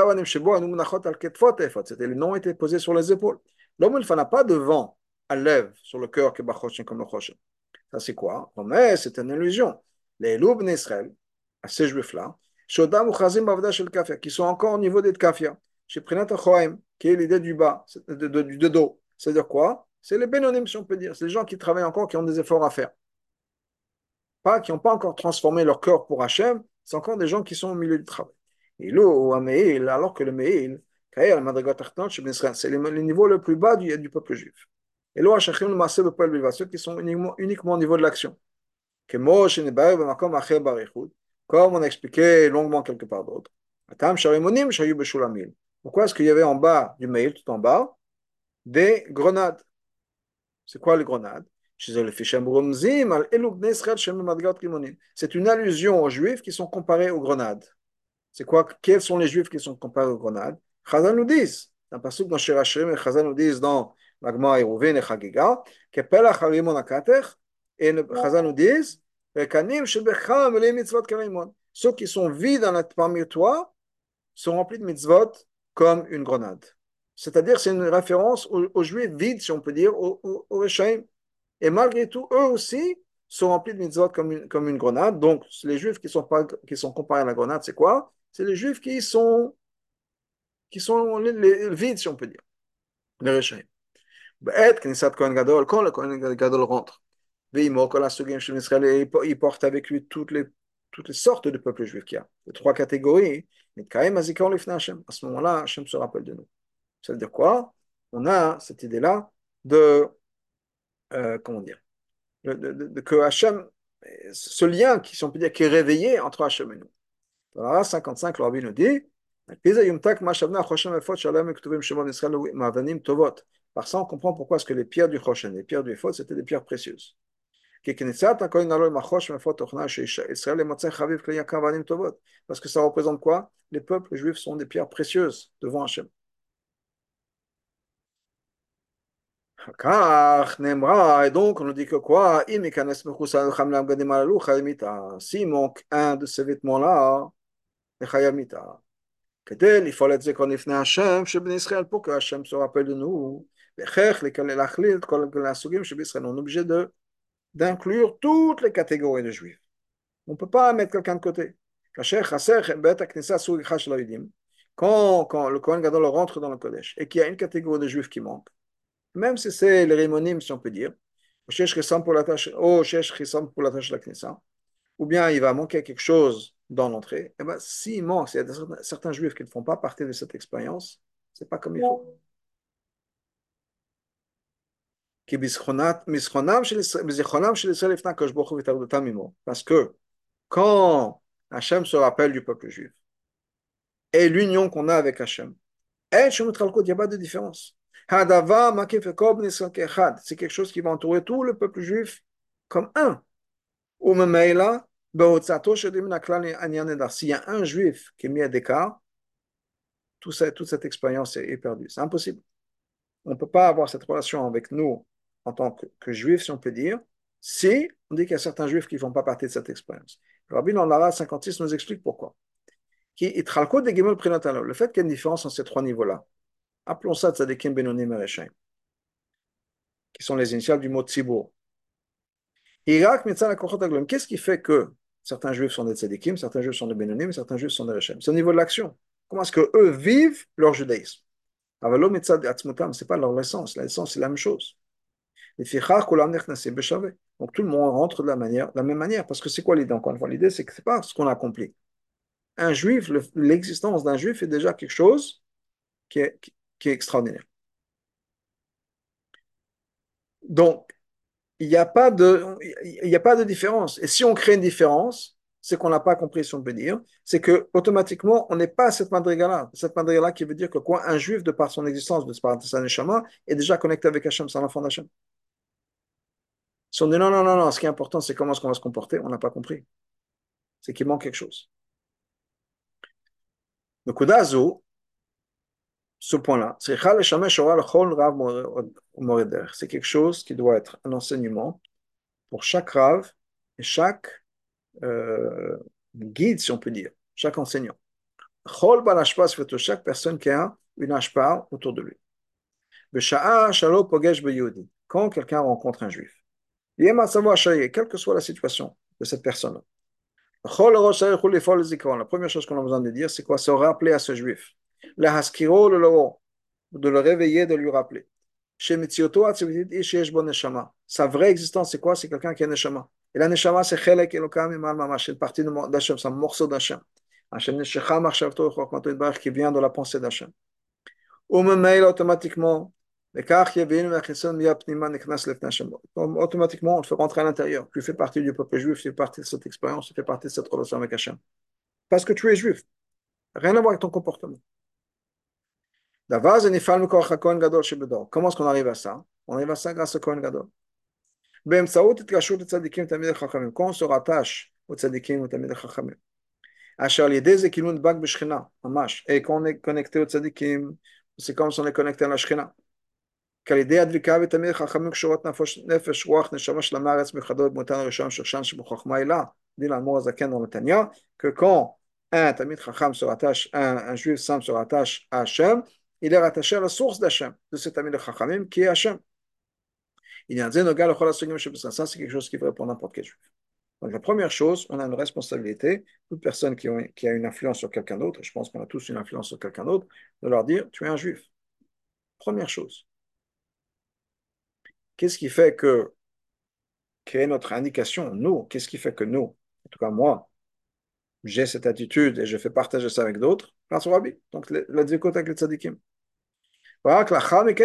les noms étaient posés sur les épaules. L'homme, il n'a pas de vent à lèvres sur le cœur comme le Choshen. Ça, c'est quoi? C'est une illusion. Les loups Israël, à ces juifs-là, Shodam ou Chazim Bavda Shel Kafia, qui sont encore au niveau des Kafia, chez Prinat Achoaim, qui est l'idée du bas, de dos. C'est-à-dire quoi? C'est les Bénonim, si on peut dire. C'est les gens qui travaillent encore, qui ont des efforts à faire. Pas, qui n'ont pas encore transformé leur cœur pour Hachem, c'est encore des gens qui sont au milieu du travail. Et là, alors que le Meil, c'est le niveau le plus bas du peuple juif. Et là, ceux qui sont uniquement au niveau de l'action. Comme on a expliqué longuement quelque part d'autre. Pourquoi est-ce qu'il y avait en bas du mail, tout en bas, des grenades? C'est quoi les grenades? C'est une allusion aux juifs qui sont comparés aux grenades. C'est quoi? Quels sont les juifs qui sont comparés aux grenades? Chazal nous disent, un passage dans Shirashim, et Chazal nous disent dans Magma et Rouven et Chagiga, que Pelach Harimon Akatech, et Chazal nous disent, Kanim Shebecham les mitzvot karimon. Ceux qui sont vides parmi toi sont remplis de mitzvot comme une grenade. C'est-à-dire, c'est une référence aux juifs vides, si on peut dire, aux Reshaim. Et malgré tout, eux aussi sont remplis de mitzvot comme une grenade. Donc, les juifs qui sont comparés à la grenade, c'est quoi? C'est les juifs qui sont les vides, si on peut dire, les Reshaim. Quand le Kohen Gadol rentre, il porte avec lui toutes les sortes de peuples juifs qu'il y a. Les trois catégories. Mais quand même, à ce moment-là, Hachem se rappelle de nous. Ça veut dire quoi? On a cette idée-là de, comment dire, que Hachem, ce lien, si on peut dire, qui est réveillé entre Hachem et nous. Dans la 55, le Rabbi nous dit, par ça, on comprend pourquoi est-ce que les pierres du Choshen, les pierres du Ephod, c'était des pierres précieuses. Parce que ça représente quoi? Les peuples juifs sont des pierres précieuses devant Hachem. Et donc, on nous dit que quoi? S'il manque un de ces vêtements-là, il faut être qu'on est venu Hachem, chez Ben Israël, pour que Hachem se rappelle de nous. On est obligé d'inclure toutes les catégories de juifs. On ne peut pas mettre quelqu'un de côté. Quand le Kohen Gadol rentre dans le Kodesh et qu'il y a une catégorie de juifs qui manque, même si c'est les Rimonim, si on peut dire, ou bien il va manquer quelque chose dans l'entrée, et ben, s'il manque, s'il y a certains juifs qui ne font pas partie de cette expérience, c'est pas comme il faut. Parce que quand Hachem se rappelle du peuple juif et l'union qu'on a avec Hachem, il n'y a pas de différence. C'est quelque chose qui va entourer tout le peuple juif comme un. S'il y a un juif qui est mis à l'écart, toute cette expérience est perdue. C'est impossible. On ne peut pas avoir cette relation avec nous en tant que juifs, si on peut dire, si on dit qu'il y a certains juifs qui ne font pas partie de cette expérience. Le Rabbi dans l'Ara 56 nous explique pourquoi. Le fait qu'il y ait une différence entre ces trois niveaux-là, appelons ça tzadikim, benonim et reshaim, qui sont les initiales du mot tzibur. Qu'est-ce qui fait que certains juifs sont des tzadikim, certains juifs sont des benonim, certains juifs sont des reshaim? C'est au niveau de l'action. Comment est-ce qu'eux vivent leur judaïsme? C'est pas leur essence. L'essence, c'est la même chose. Donc tout le monde rentre de la même manière. Parce que c'est quoi l'idée? Encore une fois, l'idée, c'est que c'est pas ce qu'on a accompli. Un juif, l'existence d'un juif est déjà quelque chose qui est extraordinaire. Donc, il n'y a pas de différence. Et si on crée une différence, c'est qu'on n'a pas compris, si on peut dire, c'est que automatiquement, on n'est pas à cette madriga-là. Cette madriga-là qui veut dire que quoi? Un juif, de par son existence, de par sa neshama, est déjà connecté avec Hachem, c'est un enfant d'Hachem. Si on dit non, non, non, non, ce qui est important, c'est comment est-ce qu'on va se comporter, on n'a pas compris. C'est qu'il manque quelque chose. Le Kudazu, ce point-là, c'est quelque chose qui doit être un enseignement pour chaque rave et chaque guide, si on peut dire, chaque enseignant. Chaque personne qui a une ashpa autour de lui. Quand quelqu'un rencontre un juif, quelle que soit la situation de cette personne, La première chose qu'on a besoin de dire, c'est quoi? Se rappeler à ce juif. La haskiro le loro, de le réveiller, de lui rappeler. Chez Mitzioto, sa vraie existence, c'est quoi? C'est quelqu'un qui a neshama. Et la neshama, c'est chelek elokam imal mamash, c'est une partie d'Hachem, c'est un morceau d'Hachem. Hachem neshecha machshavto chokmato yitbarach, qui vient de la pensée d'Hachem. Umemeil, automatiquement, automatiquement, on te fait rentrer à l'intérieur. Tu fais partie du peuple juif, tu fais partie de cette expérience, tu fais partie de cette relation avec Hachem. Parce que tu es juif. Rien à voir avec ton comportement. Comment est-ce qu'on arrive à ça? On arrive à ça grâce au Kohen Gadol. Quand on se rattache au tzadikim ou tamid chachamim, et qu'on est connecté au tzadikim, c'est comme si on est connecté à la Shekhinah. Que quand un Tamid Chacham se rattache, un juif simple se rattache à Hachem, il est rattaché à la source d'Hachem, de cet Tamid Chachamim qui est Hachem. Il y a un Zenogal, ça c'est quelque chose qui est vrai pour n'importe quel juif. Donc la première chose, on a une responsabilité, toute personne qui a une influence sur quelqu'un d'autre, et je pense qu'on a tous une influence sur quelqu'un d'autre, de leur dire, tu es un juif. Première chose. Qu'est-ce qui fait que, quelle est notre indication, nous, qu'est-ce qui fait que nous, en tout cas moi, j'ai cette attitude et je fais partager ça avec d'autres, grâce au Rabbi. Donc, la dvikot avec les tzadikim. Après,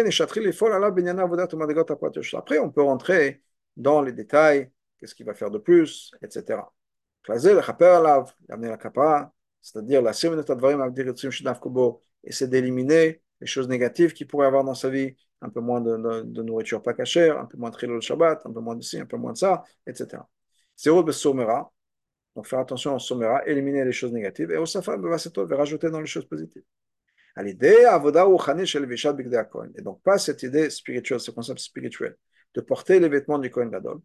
on peut rentrer dans les détails, qu'est-ce qu'il va faire de plus, etc. Amener la kapara, c'est-à-dire la essayer d'éliminer les choses négatives qu'il pourrait avoir dans sa vie, un peu moins de nourriture pas cachère, un peu moins de trilot Shabbat, un peu moins de ci, un peu moins de ça, etc. Zéro de somera, donc faire attention au somera, éliminer les choses négatives, et au safa, rajouter dans les choses positives. À l'idée, avoda ou chani shel vishat bigdei Kohen. Et donc, pas cette idée spirituelle, ce concept spirituel, de porter les vêtements du Kohen Gadol.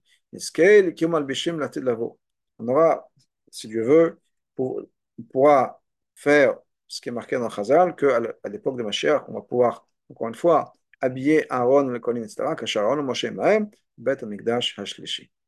On aura, si Dieu veut, on pourra faire ce qui est marqué dans Chazal, qu'à l'époque de Mashiach, on va pouvoir, encore une fois, habiller Aaron, le Kohen, etc., Kasher Aaron, Moshe Mahem, Bet Amigdash Hashlishi.